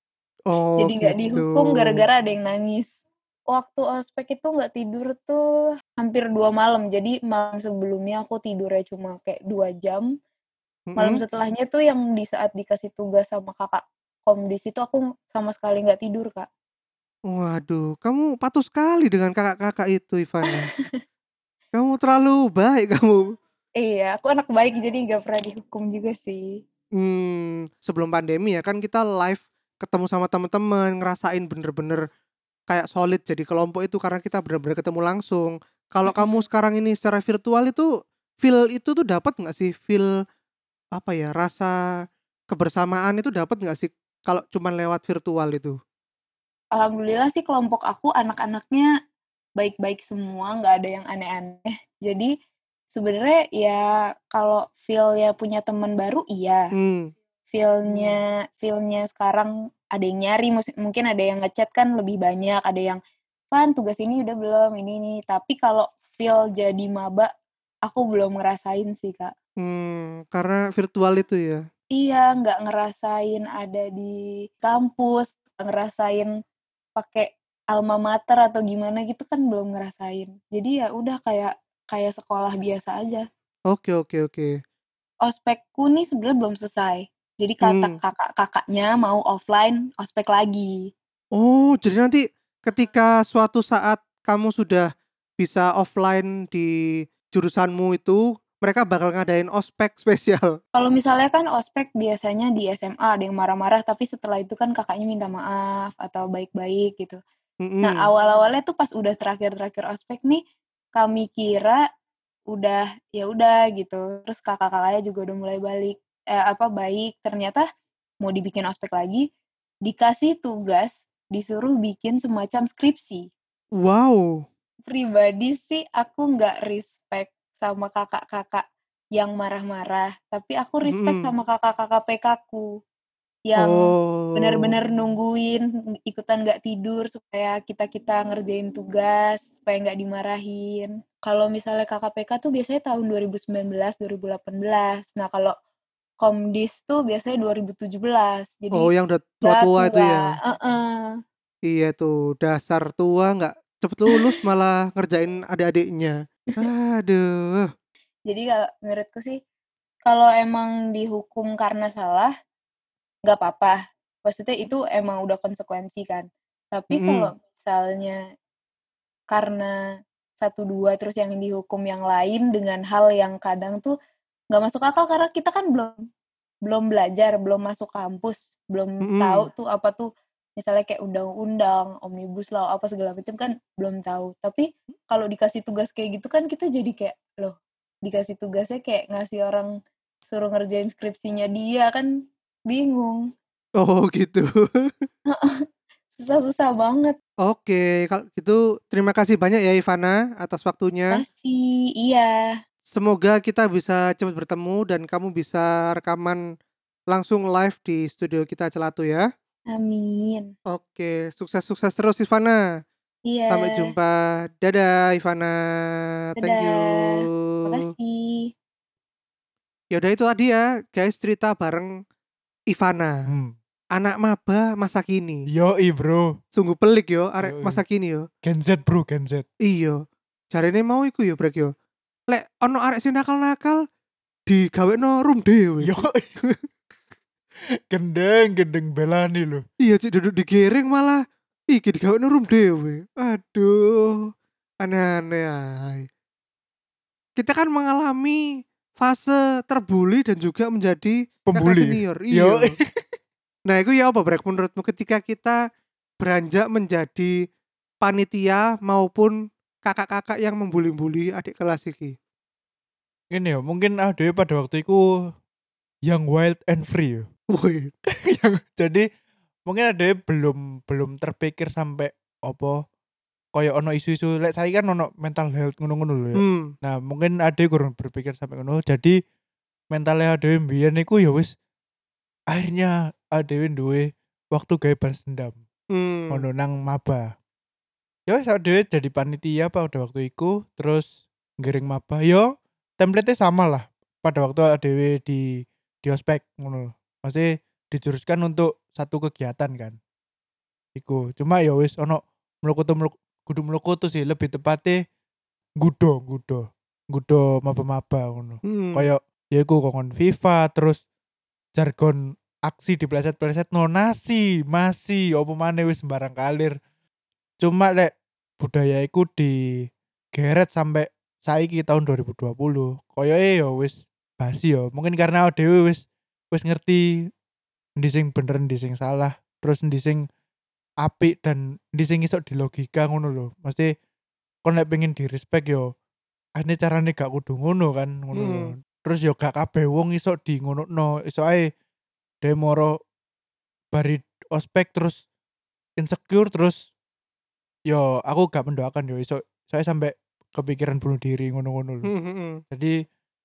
Oh Jadi nggak gitu. dihukum gara-gara ada yang nangis. Waktu ospek itu nggak tidur tuh hampir dua malam. Jadi malam sebelumnya aku tidurnya cuma kayak dua jam. Malam Mhm. setelahnya tuh yang di saat dikasih tugas sama kakak komdis itu aku sama sekali nggak tidur, Kak. Waduh, kamu patuh sekali dengan kakak-kakak itu, Ivana. Kamu terlalu baik kamu. Iya, aku anak baik jadi nggak pernah dihukum juga sih. Mmm, sebelum pandemi ya kan kita live ketemu sama teman-teman, ngerasain bener-bener kayak solid jadi kelompok itu karena kita bener-bener ketemu langsung. Kalau kamu Mhm. sekarang ini secara virtual itu, feel itu tuh dapat nggak sih? Feel apa ya, rasa kebersamaan itu dapat nggak sih kalau cuman lewat virtual itu? Alhamdulillah sih kelompok aku anak-anaknya baik-baik semua, nggak ada yang aneh-aneh. Jadi sebenarnya ya kalau feel-nya punya teman baru iya, Mmm, feel-nya feel-nya sekarang ada yang nyari, mus mungkin ada yang nge-chat kan lebih banyak, ada yang, "Van tugas ini udah belum? Ini ini." Tapi kalau feel jadi maba, aku belum ngerasain sih, Kak. mmm, karena virtual itu ya? Iya, nggak ngerasain ada di kampus, nggak ngerasain pakai alma mater atau gimana gitu kan belum ngerasain. Jadi ya udah kayak kayak sekolah biasa aja. Oke oke oke. Ospekku nih sebenarnya belum selesai. Jadi kata Mmm. kakak-kakaknya mau offline ospek lagi. Oh, jadi nanti ketika suatu saat kamu sudah bisa offline di jurusanmu itu, mereka bakal ngadain ospek spesial? Kalau misalnya kan ospek biasanya di S M A ada yang marah-marah, tapi setelah itu kan kakaknya minta maaf atau baik-baik gitu. Nah, Mhm. awal-awalnya tuh pas udah terakhir-terakhir ospek nih, kami kira udah, ya udah gitu, terus kakak-kakaknya juga udah mulai balik eee, apa, baik, ternyata mau dibikin ospek lagi, dikasih tugas, disuruh bikin semacam skripsi. Wow. Pribadi sih aku nggak respect sama kakak-kakak yang marah-marah, tapi aku respect Mhm. sama kakak-kakak P K-ku. Yang Oh. bener-bener nungguin, ikutan nggak tidur supaya kita-kita ngerjain tugas, supaya nggak dimarahin. Kalau misalnya K K P K tuh biasanya tahun dua ribu sembilan belas, dua ribu delapan belas. Nah, kalau Komdis tuh biasanya dua ribu tujuh belas. Oh, Jadi yang udah udah tua-tua itu tua, ya? heeh. Iya tuh, dasar tua nggak cepet lulus malah ngerjain adik-adiknya. Aduh. Jadi kalau menurutku sih, kalau emang dihukum karena salah, nggak apa-apa. Maksudnya itu emang udah konsekuensi kan. Tapi Mhm. kalau misalnya karena satu dua terus yang dihukum yang lain dengan hal yang kadang tuh nggak masuk akal karena kita kan belum belum belajar, belum masuk kampus, belum tahu Mhm. tuh apa tuh misalnya kayak undang-undang, omnibus law, apa segala macam kan belum tahu. Tapi kalau dikasih tugas kayak gitu kan kita jadi kayak, loh dikasih tugasnya kayak ngasih orang suruh ngerjain skripsinya dia, kan bingung. Oh gitu. Susah-susah banget. Oke, kalau gitu terima kasih banyak ya Ivana atas waktunya. Makasih, iya, Semoga kita bisa cepat bertemu dan kamu bisa rekaman langsung live di studio kita Celatu ya. amin. Oke, sukses-sukses terus Ivana. Iya, Sampai jumpa. Dadah Ivana. Thank you. dadah. Makasih. Ya udah itu tadi ya, guys, cerita bareng Ivana. Hmm. Anak maba masa kini. Yoi bro. Sungguh pelik yo arek Yoi. masa kini yo. Gen Z bro, Gen Z. Iya. Jarene mau iku yo brek yo. Lek ono arek sing nakal-nakal digawekno room dhewe. Yoi. Gendeng, gendeng belani loh. Iya cik duduk digiring malah iki digawekno room dhewe. Aduh. Aneh-aneh ae. Kita kan mengalami fase terbuli dan juga menjadi kakak Pembuli. senior. Yoi. Iya. Nah, itu ya apa brek menurutmu ketika kita beranjak menjadi panitia maupun kakak-kakak yang membuli-buli adik kelas iki? Ini ya, mungkin ada pada waktu itu yang wild and free ya. Woi. Yang jadi mungkin ada belum belum terpikir sampai apa koyo ono isu-isu lek saya kan ono mental health ngono-ngono lho ya. Hmm. Nah, mungkin ade kurang berpikir sampai ngono. Jadi mentalnya ade mbiyen iku ya wis akhirnya ade duwe waktu gawe balas dendam. Hmm. Ngono nang maba. Ya wis ade jadi panitia pada waktu iku terus ngiring maba. Yo template sama lah. pada waktu dhewe di di ospek ngono. Maksudnya dijuruskan untuk satu kegiatan kan. Iku. Cuma ya wis ono mlukutu mluk kudu mlukutu sih, lebih tepatnya nggudo nggudo. Nggudo maba-maba ngono. Hmm. Kayak ya iku kongkon FIFA terus jargon aksi dipleset-pleset no nasi, masih opo maneh wis sembarang kalir. Cuma lek budaya iku digeret sampai saiki tahun dua ribu dua puluh. Koyoke ya wis basi ya. Mungkin karena dhewe wis wis ngerti ndi sing bener ndi sing salah, terus ndi sing apik dan ndi sing iso dilogika ngono lho. Mesti kon lek pengen di-respect yo ane carane gak kudu ngono kan, ngono lho. Hmm. Terus yo gak kabeh wong iso di ngonokno, iso ae dhewe moro bari ospek terus insecure terus yo aku gak mendoakan yo iso saya sampai kepikiran bunuh diri ngono-ngono lho. Hmm, hmm. Jadi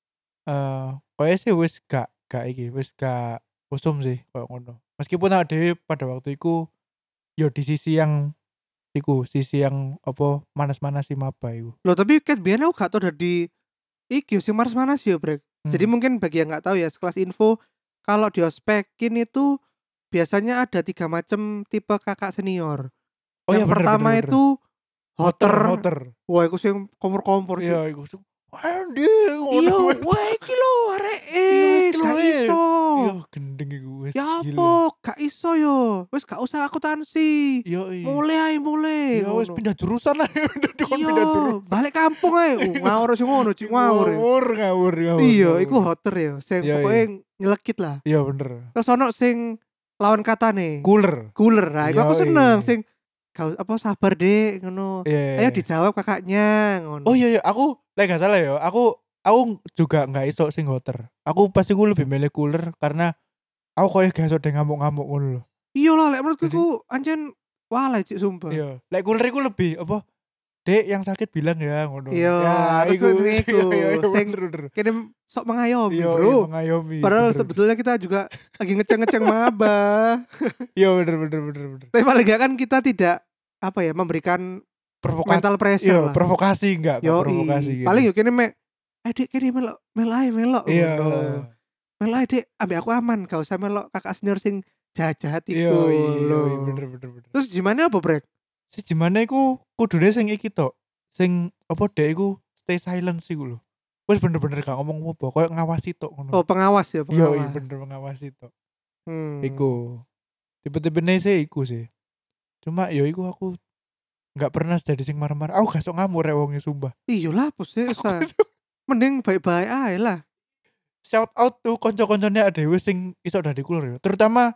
eh koyo sih wis gak gak iki, wis gak usum sih koyo ngono. Meskipun awake dhewe pada waktu iku yo di sisi yang iku, sisi yang apa manas-manasi maba iku. Loh tapi ket biyen aku gak tau dadi iki sing manas-manas ya, Brek. Jadi Hmm. mungkin bagi yang nggak tahu ya, sekelas info kalau di ospekin itu biasanya ada tiga macam tipe kakak senior. Oh Yang iya bener pertama bener bener. itu hoter. hoter. Wah, iku sing kompor-kompor. Cuk. Iya iku. Andi Iya, ngono. wah iki lho arek Iya, eh iki lho, gak eh. iso. Iya gendeng iku wis Ya gila. apa, gak iso yo. Wis gak usah akuntansi. Iya iya. Mulai ae mulai. Ya wis ngono. pindah jurusan lah. Dikon Iya, pindah jurusan. balik kampung ae. Uh, ngawur sing ngono, Cuk, ngawur. ya. Ngawur ngawur ngawur. Iya, ngawur. iku hoter ya. Sing Iya, pokoknya iya. nyelekit lah. Iya bener. Terus ono sing lawan katane. Cooler. Cooler. Nah, iku aku Yoi. seneng sing gak apa sabar, Dek, ngono. Iya. Ayo dijawab kakaknya, ngono. Oh iya iya, aku lek gak salah ya, aku aku juga nggak iso sing hoter. Aku pasti gue lebih milih cooler karena aku koyo gak iso deh ngamuk-ngamuk ngono lho. Iya lah, lek menurutku Jadi- iku anjen walai Cik, sumpah. Iya, lek cooler iku lebih apa? Dek yang sakit bilang ya ngono. Iya, ya, terus iku. ngene iku, Iya, iya, sing bener, bener. Kirim sok mengayomi, Iya, Bro. iya, mengayomi. Padahal bener, sebetulnya kita juga lagi ngeceng-ngeceng maba. bener. Iya bener bener bener bener. Tapi paling gak kan kita tidak apa ya, memberikan Provokasi. mental pressure Iya, lah. provokasi enggak, enggak Yoi. provokasi gitu. Paling yo kene mek adik kene melok mel ae melok Iya. ngono. Mel ae Dik, ambek aku aman, gak usah melok kakak senior sing jahat Iya, iku iya, lho. iya, bener bener bener. Terus gimana apa, Brek? Si gimana iku kudune sing iki tok. Sing apa dek iku stay silent sih lho. Wis bener-bener gak ngomong apa, koyo ngawasi tok ngono. Oh, pengawas ya, Iya, pengawas. iya bener ngawasi tok. Hmm. Iku. Tipe-tipene sih iku sih. Cuma ya iku aku nggak pernah jadi sing marah-marah. Aku gak sok ngamuk rek wonge sumpah. Iya lah, apa sih usah. Mending baik-baik ae lah. Shout out tuh konco-koncone dhewe sing iso dadi cooler ya. Terutama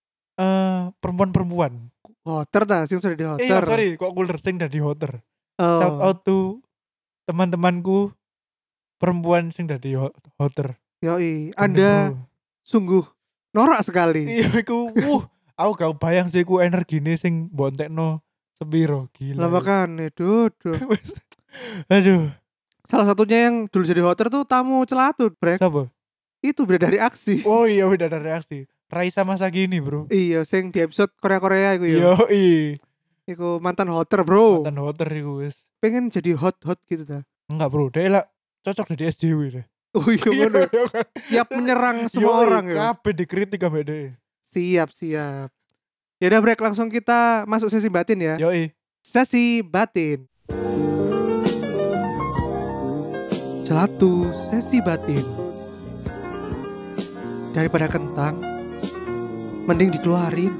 eh perempuan-perempuan. Hoter ta sing sudah di Eh iya, hoter. sorry, kok cooler sing dadi hoter. Oh. Shout out tuh teman-temanku perempuan sing dadi ho- hoter. Yoi, Gendeng, Anda bro. sungguh norak sekali. Iya iku, wuh, aku gak bayang sih iku energine sing bontekno sepiro, gila. Lah makane, duduk. Aduh, Salah satunya yang dulu jadi hoter tuh tamu celatut, Brek. siapa? Itu beda dari aksi. Oh iya udah ada reaksi. Raisa Masagini, bro. Iya, sing di episode Korea-Korea iku ya. Yo, i. Iku mantan hoter, Bro. Mantan hoter iku wis. Pengen jadi hot-hot gitu ta. Enggak, bro. Dia lah cocok jadi S J W deh. Oh iya ngono. iya kan? Siap menyerang semua Yoi, orang ya. kabeh dikritik ambek dia. Siap, siap. Ya udah, Brek, langsung kita masuk sesi batin ya. Yoi. Sesi batin. Celatu sesi batin. Daripada kentang, mending dikeluarin.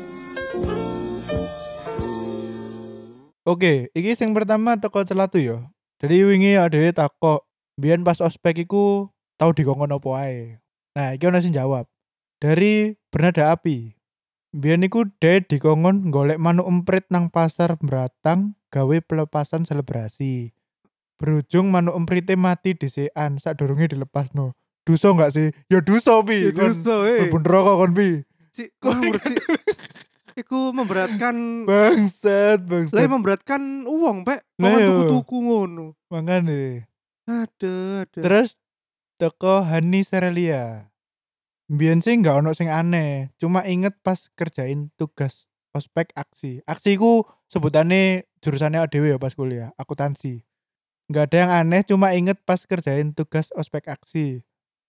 Oke, iki sing pertama teko celatu ya. Jadi wingi adewe takok, biyen pas ospek iku tau dikongkon apa ae. Nah, iki ono sing jawab. Dari Bernada Api. Biyen iku de dikongkon golek manuk emprit nang pasar Beratang gawe pelepasan selebrasi. Berujung manuk emprite mati disikan sadurunge dilepasno. Duso enggak sih? Ya duso pi. Ya duso, eh. Bener kok kon pi. Cik, ngawur, Cik. Iku memberatkan. Bangsat, Lah bangsat. memberatkan uang, Pak. Lah, Makan iya. tuku-tuku ngono. Mangane. Aduh, aduh. Terus teko Hani Serelia. Biyen sih nggak ono sing aneh, cuma inget pas kerjain tugas ospek aksi. Aksi ku sebutannya jurusannya A D W ya pas kuliah, akuntansi. Nggak ada yang aneh, cuma inget pas kerjain tugas ospek aksi.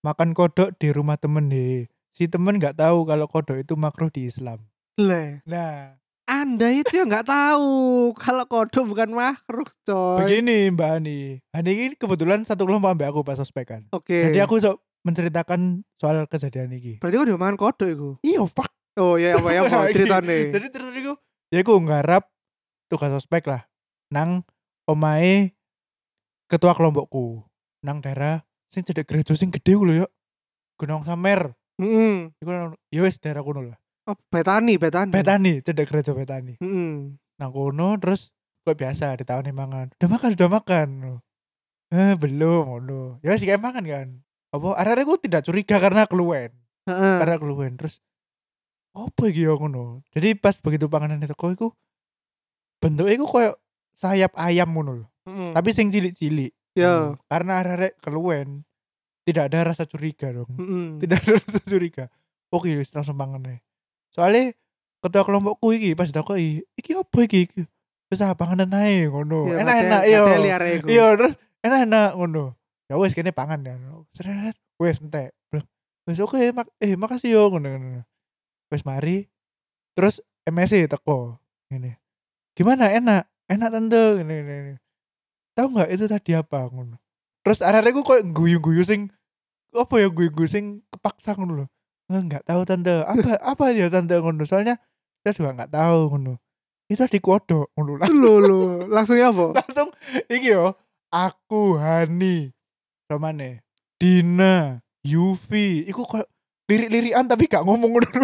makan kodok di rumah temen deh. Si temen nggak tahu kalau kodok itu makruh di Islam. Lah, Nah, Anda itu ya nggak tahu kalau kodok bukan makruh, coy. begini Mbak Hani. Hani ini kebetulan satu kelompok ambek aku pas ospek kan. Oke. Jadi aku sok menceritakan soal kejadian ini. Berarti kok dia makan kodok iku. Iya, fuck. Oh ya apa ya apa Nah, iki. ceritane. Jadi terus iku ya aku nggarap tugas ospek lah nang omahe ketua kelompokku nang daerah sing cedek gereja sing gede ku lho yo. Gunung Samer. Heeh. Iku nang- ya wis daerah kono lah. Oh, Betani, Betani. Betani, cedek gereja Betani. Heeh. Nang kono terus kok biasa ditawani mangan. Udah makan, udah makan. Eh, belum ngono. Ya wis kayak makan kan. Apa arek-arek ku tidak curiga karena keluwen. Heeh. Karena keluwen terus apa iki ya ngono. Jadi pas begitu panganan itu kok iku bentuknya iku koyo sayap ayam ngono lho. Heeh. Tapi sing cilik-cilik. Ya. Hmm, Karena arek-arek keluwen tidak ada rasa curiga dong. Heeh. Tidak ada rasa curiga. Oke wis langsung pangan ae. Soalnya ketua kelompokku iki pas ditakoki, "Iki apa iki?" iki? Wis ah panganan ae ngono. Ya, Enak-enak ngadeli- yo. ngadeli arek iku. Iya terus enak-enak ngono. Ya wis kene pangan kan. Seret wis entek. Bilang, wis oke mak eh makasih yo ngono ngono. Wis mari terus M S C teko ngene. Gimana enak? Enak tante ngene ngene. Tahu nggak itu tadi apa ngono. Terus arek-arek ku koyo guyu-guyu sing apa ya guyu-guyu sing kepaksa ngono lho. Enggak tahu tante. Apa apa ya tante ngono. Soalnya saya juga enggak tahu ngono. Itu di kodok ngono. Lho lho, langsung ya apa? Langsung iki yo. Aku Hani. Sama nih. Dina, Yufi. Iku koyo lirik-lirikan tapi gak ngomong ngono.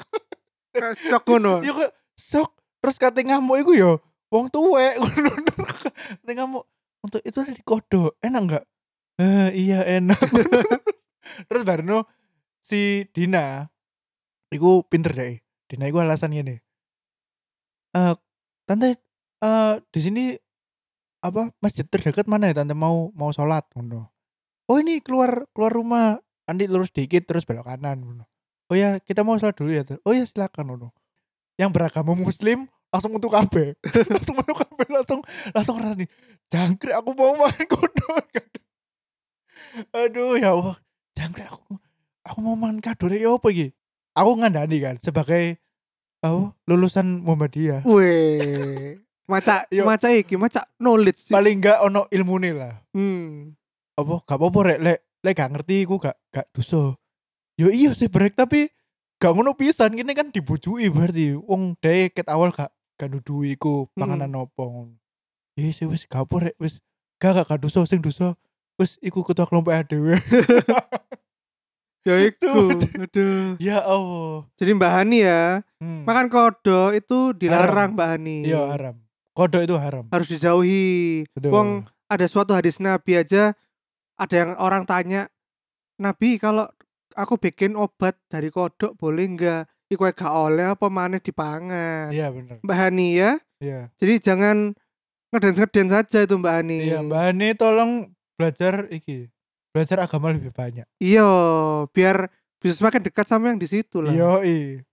Shock ngono. Iya kok sok terus kate ngamuk iku yo wong tuwek ngono. Kate ngamuk untuk itu di kodok enak enggak? Eh iya enak. Terus barno si Dina iku pinter deh. Dina iku alasan gini. Eh tante eh di sini apa masjid terdekat mana ya tante mau mau sholat ngono. Oh ini keluar keluar rumah nanti lurus dikit terus belok kanan ngono. Oh ya kita mau sholat dulu ya. Oh ya silakan ngono. Yang beragama muslim langsung untuk kabeh. langsung untuk kabeh langsung langsung rasani. Jangkrik aku mau makan kodok. Aduh ya Allah. Jangkrik aku aku mau makan kadore ya apa iki? Aku ngandani kan sebagai oh, lulusan Muhammadiyah. Weh. Maca Yo. maca iki, maca knowledge sih. Paling enggak ono ilmune lah. Hmm. Apa gak apa-apa rek lek lek gak ngerti iku gak gak dosa. Yo iya sih brek tapi gak ngono pisan kene kan dibujui berarti wong dhewe ket awal gak gak nuduhi iku panganan opo ngono. Ya wis wis gak apa rek wis gak gak gak dosa sing dosa wis iku ketua kelompok dhewe. Ya iku. Aduh. Ya Allah. Jadi Mbak Hani ya, Hmm. makan kodok itu Haram. dilarang Mbak Hani. Iya haram. Kodok itu haram. Harus dijauhi. Betul. Wong ada suatu hadis Nabi aja ada yang orang tanya, "Nabi, kalau aku bikin obat dari kodok boleh enggak?" Iku gak oleh apa maneh dipangan. Iya bener. Mbak Hani ya. Iya. Jadi jangan ngeden-ngeden saja itu Mbak Hani. Iya Mbak Hani tolong belajar iki. Belajar agama lebih banyak. Iya, biar bisa semakin dekat sama yang di situ lah. Yo i.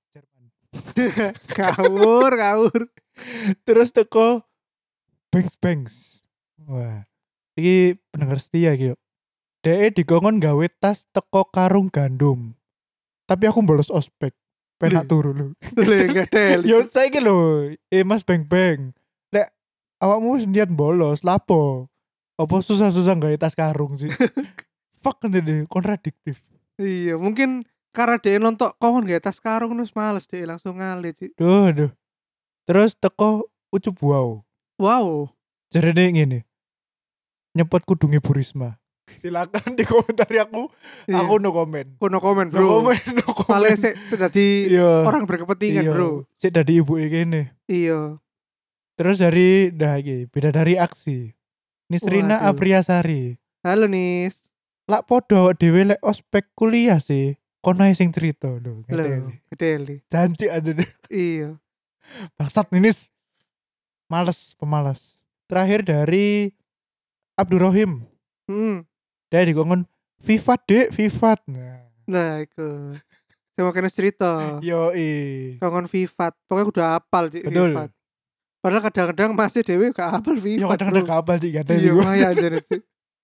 Kawur, kawur. Terus teko Bangs Bangs. Wah. Iki pendengar setia iki yo. Dek dikongkon gawe tas teko karung gandum. Tapi aku bolos ospek. Penak Lih. turu lho. Boleh enggak del. Yo saiki lho, eh Mas Beng Beng. Lek awakmu wis niat bolos, lapo? Apa susah-susah gawe tas karung sih? Fuck ngene kontradiktif. Iya, mungkin karena dia nonton kongon gak tas karung terus males dia langsung ngalit sih. Duh, duh. Terus teko ucup wow. Wow. Jarene ngene. Nyepot kudunge Bu Risma. Silakan di komentari aku. Iya. Aku no komen. Kuno komen No bro. komen, no komen. Soalnya sih jadi Iya. orang berkepentingan Iya. bro. Sik dadi ibuke kene. Iya. Terus dari dah iki, beda dari aksi. Nisrina Waduh. Apriyasari. Halo Nis. Lak podo dhewe lek ospek kuliah sih. Kono ae sing cerita lho. Loh, Ngeteli. gedeli. Janji aja deh. Iya. Bangsat Ninis. Males, pemalas. Terakhir dari Abdurrahim. Hmm. Dia dikongkon Vivat dek, Vivat. Nah. Nah, itu. Saya mau kena cerita. Yoi. Kongon Vivat. Pokoknya udah hafal sih Betul. Vivat. Padahal kadang-kadang masih dewe gak hafal Ya Vivat. kadang-kadang bro. kapal sih gak ada Iya, juga. lumayan jadi sih.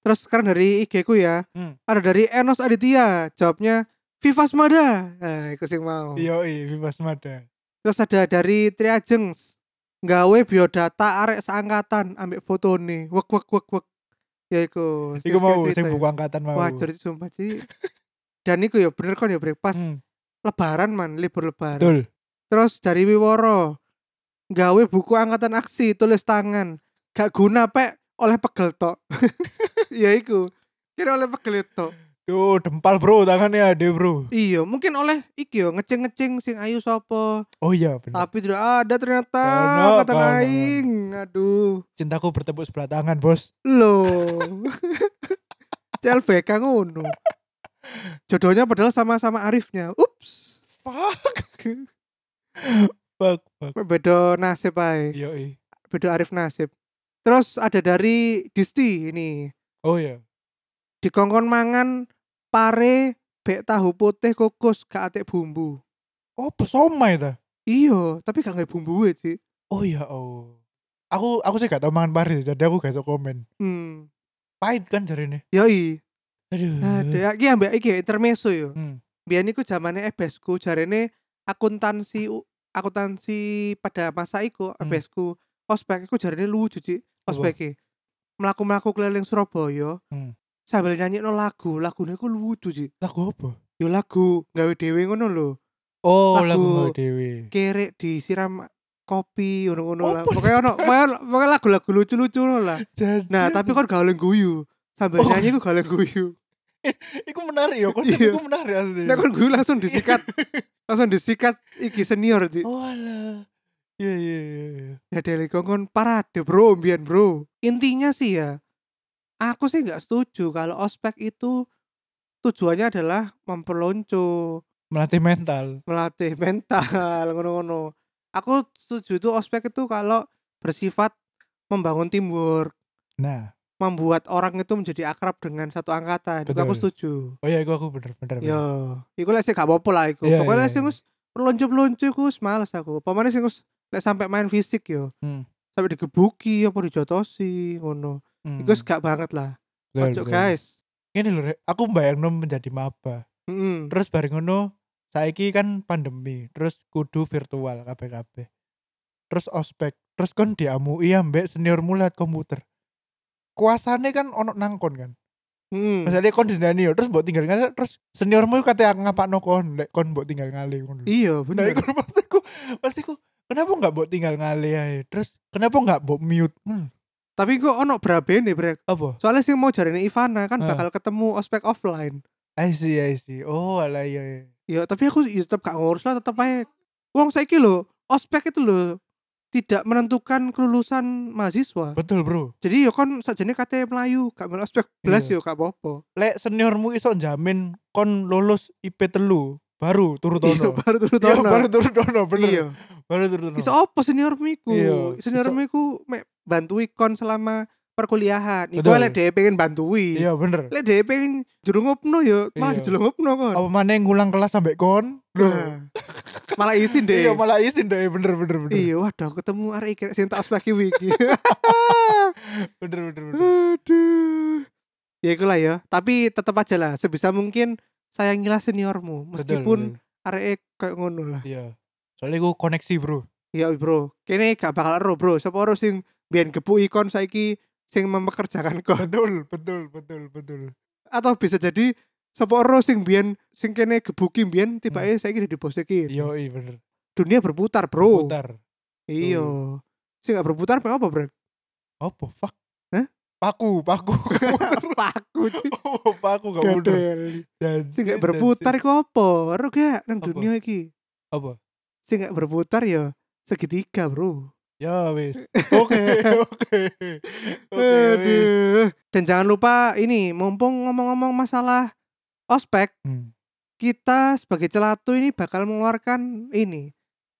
Terus sekarang dari I G ku ya. Hmm. Ada dari Enos Aditya, jawabnya Vivas Mada. Nah, iku sing mau. Yo i Vivas Mada. Terus ada dari Triajengs, gawe biodata arek seangkatan ambek fotone. Wek wek wek wek. Ya iku. Iku mau cerita sing ya. buku angkatan mau. Wah, jadi sumpah sih. Dan iku ya bener kan ya brek pas Hmm. lebaran man, libur lebaran. Betul. Terus dari Wiworo, gawe buku angkatan aksi tulis tangan. Gak guna pek oleh pegel tok. Ya iku. Kira oleh pegel tok. Tuh dempal bro tangannya ada bro. Iya, mungkin oleh iki yo ngeceng-ngeceng sing ayu sapa. Oh iya benar. Tapi tidak ada ternyata Kono, angkatan kono, aing. Aduh. Cintaku bertepuk sebelah tangan bos. Loh. C L B K ngono. Jodohnya padahal sama-sama Arifnya. Ups. Fuck. Fuck fuck. Beda nasib ae. Yo i. Beda Arif nasib. Terus ada dari Disti ini. Oh iya. Dikongkon mangan pare bek tahu putih kukus gak atik bumbu. Oh pesomai ta. Iya, tapi gak nggak bumbu sih. Oh iya oh. Aku aku sih gak tau mangan pare jadi aku gak iso komen. Hmm. Pahit kan jarine. Yoi. Aduh. Ada iki ambek iki intermezzo yo. Hmm. Biyen iku zamane ebesku jarene akuntansi akuntansi pada masa iku Hmm. ebesku ospek iku jarene lucu Cik. Apa? Ospeke. Melaku-melaku keliling Surabaya. Hmm. Sambil nyanyi no lagu, lagune iku lucu Cik. Lagu apa? Yo lagu gawe dhewe ngono lho. Oh Lagu lagu Mbak Dewi. Kerek disiram kopi ngono-ngono lah. Apa Pokoknya ono pokoknya pokoknya lagu-lagu lucu-lucu ngono lah. Jadi, Nah, tapi kan gak oleh guyu. Sambil Oh. nyanyi iku gak oleh guyu. iku menarik ya, konsep Iya. iku menarik asli. Nek kon guyu langsung disikat. Langsung disikat iki senior Cik. Oh alah. Iya iya iya. Ya Deli Kongkon parade bro, mbiyen bro. Intinya sih ya, aku sih nggak setuju kalau ospek itu tujuannya adalah memperlonco, Melatih mental. melatih mental, ngono-ngono. Aku setuju itu ospek itu kalau bersifat membangun teamwork, Nah, membuat orang itu menjadi akrab dengan satu angkatan. Itu aku Betul. setuju. oh iya iku aku bener bener. bener. Yo, iku lek sih gak apa-apa lah iku. Iya, Pokoknya iya, sing iya. wis pelonco-pelonco iku wis males aku. Pemane sing wis lek sampai main fisik yo. Hmm. Sampai digebuki apa dijotosi ngono. Hmm. Iku wis gak banget lah. Betul, Ojo betul. guys. Ini lho Rek, aku bayangno menjadi maba. Heeh. Terus bareng ngono saiki kan pandemi, terus kudu virtual kabeh-kabeh. Terus ospek, terus kon diamui ambek senior mulat komputer. Kuasane kan ono nangkon kan. Heeh. Misalnya kon disini yo, terus mbok tinggal ngalih, terus seniormu kate ngapakno kon, lek kon mbok tinggal ngalih ngono. lho. Iya, Nah, bener. iku maksudku, maksudku kenapa enggak mbok tinggal ngalih ae? Terus kenapa enggak mbok mute? Hmm, Tapi kok ono brabene, Brek. apa? Soalnya sing mau jarene Ivana kan Ah. bakal ketemu ospek offline. I see, I see. Oh, alah iya. iya. Ya, tapi aku ya tetep gak ngurus lah, tetep ae. Wong saiki lho, ospek itu lho tidak menentukan kelulusan mahasiswa. Betul, Bro. Jadi yo kon sakjane kate Melayu, gak melu ospek belas Iya. yo gak apa-apa. Lek seniormu iso jamin kon lulus I P telu, baru turu Iya, tono. baru turu Iya, tono. baru turu tono, bener. Iya. Baru turu tono. Iso apa seniormu iku? Iya, Seniormu iku mek bantui kon selama perkuliahan. Iku Betul. lek dhewe pengen bantui. Iya, bener. Lek dhewe pengen jerungupno yo malah Iya. dijelungupno kon. Apa maneh ngulang kelas sampai kon? Loh. Nah, malah izin deh. Iya, malah izin deh, bener bener bener. Iya, waduh ketemu arek iki sing tak ospek iki. Bener bener bener. Aduh. Ya ikulah ya, tapi tetap aja lah sebisa mungkin sayangilah seniormu Betul, meskipun betul. arek kayak ngono lah. Iya. Soalnya gue koneksi, Bro. Iya, Bro. Kene gak bakal ero, Bro. Sapa ero sing biyen gepuki kon saiki sing mempekerjakan kon. Betul, betul, betul, betul. Atau bisa jadi sapa ero sing biyen sing kene gebuki biyen tibake saiki di bos iki. Iya, iya bener. Dunia berputar, Bro. Putar. Iya. Sing gak berputar apa apa, Bro? Apa? Fuck. Hah? Paku, paku. Paku sih. Oh, paku gak muter. Gadel. Janji, Sing gak berputar janji. iku apa? Ero gak nang Apa? dunia iki? Apa? Sing gak berputar ya segitiga, Bro. Ya wis. Oke, oke. Oke, wis. Aduh. Dan jangan lupa ini, mumpung ngomong-ngomong masalah ospek, Hmm. kita sebagai celatu ini bakal mengeluarkan ini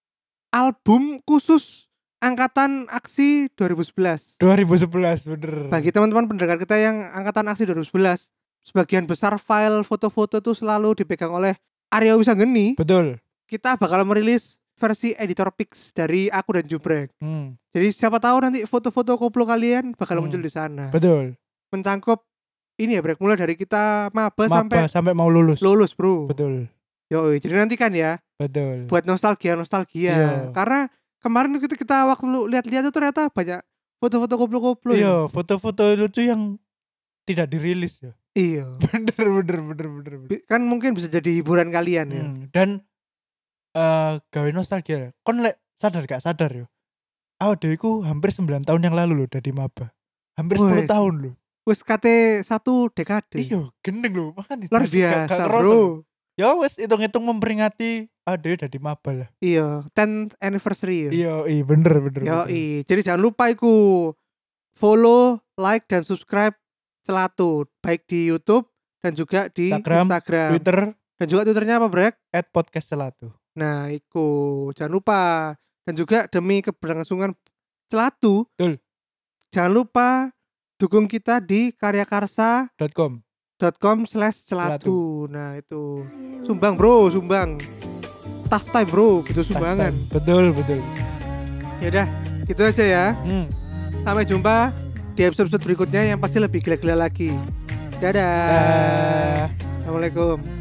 album khusus angkatan aksi dua ribu sebelas. dua ribu sebelas bener. Bagi teman-teman pendengar kita yang angkatan aksi dua ribu sebelas, sebagian besar file foto-foto itu selalu dipegang oleh Arya Wisanggeni. Betul. Kita bakal merilis versi editor pics dari aku dan Jubrek. Hmm. Jadi siapa tahu nanti foto-foto koplo kalian bakal Hmm. muncul di sana. Betul. Mencangkup ini ya Brek, mulai dari kita maba, Maba sampai sampai mau lulus. lulus bro. Betul. Yo, jadi nanti kan ya Betul. buat nostalgia nostalgia. Iya. Karena kemarin kita kita waktu lu lihat-lihat tuh ternyata banyak foto-foto koplo-koplo. Iya, foto-foto lucu yang tidak dirilis ya. Iya. Bener bener bener bener. bener. Bi- Kan mungkin bisa jadi hiburan kalian ya. Hmm, dan eh gawe nostalgia. Kon lek sadar gak sadar yo. Awak dhewe iku hampir sembilan tahun yang lalu loh dadi maba. Hampir sepuluh Wes. tahun loh. Wes kate satu dekade. Iya, gendeng loh. Makanya Luar dadi gak- gak biasa kerasa bro. loh. Ya wes hitung-hitung memperingati awak dhewe dadi maba lah. Iya, tenth anniversary ya. Iya, iya bener bener. Yo, bener. i. Jadi jangan lupa iku follow, like dan subscribe Celatu baik di YouTube dan juga di Instagram, Instagram. Twitter Dan juga Twitternya apa, Brek? at podcast Celatu. Nah, iku jangan lupa. Dan juga demi keberlangsungan Celatu, Betul. jangan lupa dukung kita di karyakarsa dot com. dot com slash celatu. Nah, itu sumbang bro, sumbang. Tough time bro, butuh sumbangan. Betul betul. Ya udah, gitu aja ya. Hmm. Sampai jumpa di episode berikutnya yang pasti lebih gila-gila lagi. Dadah. Dah. Assalamualaikum.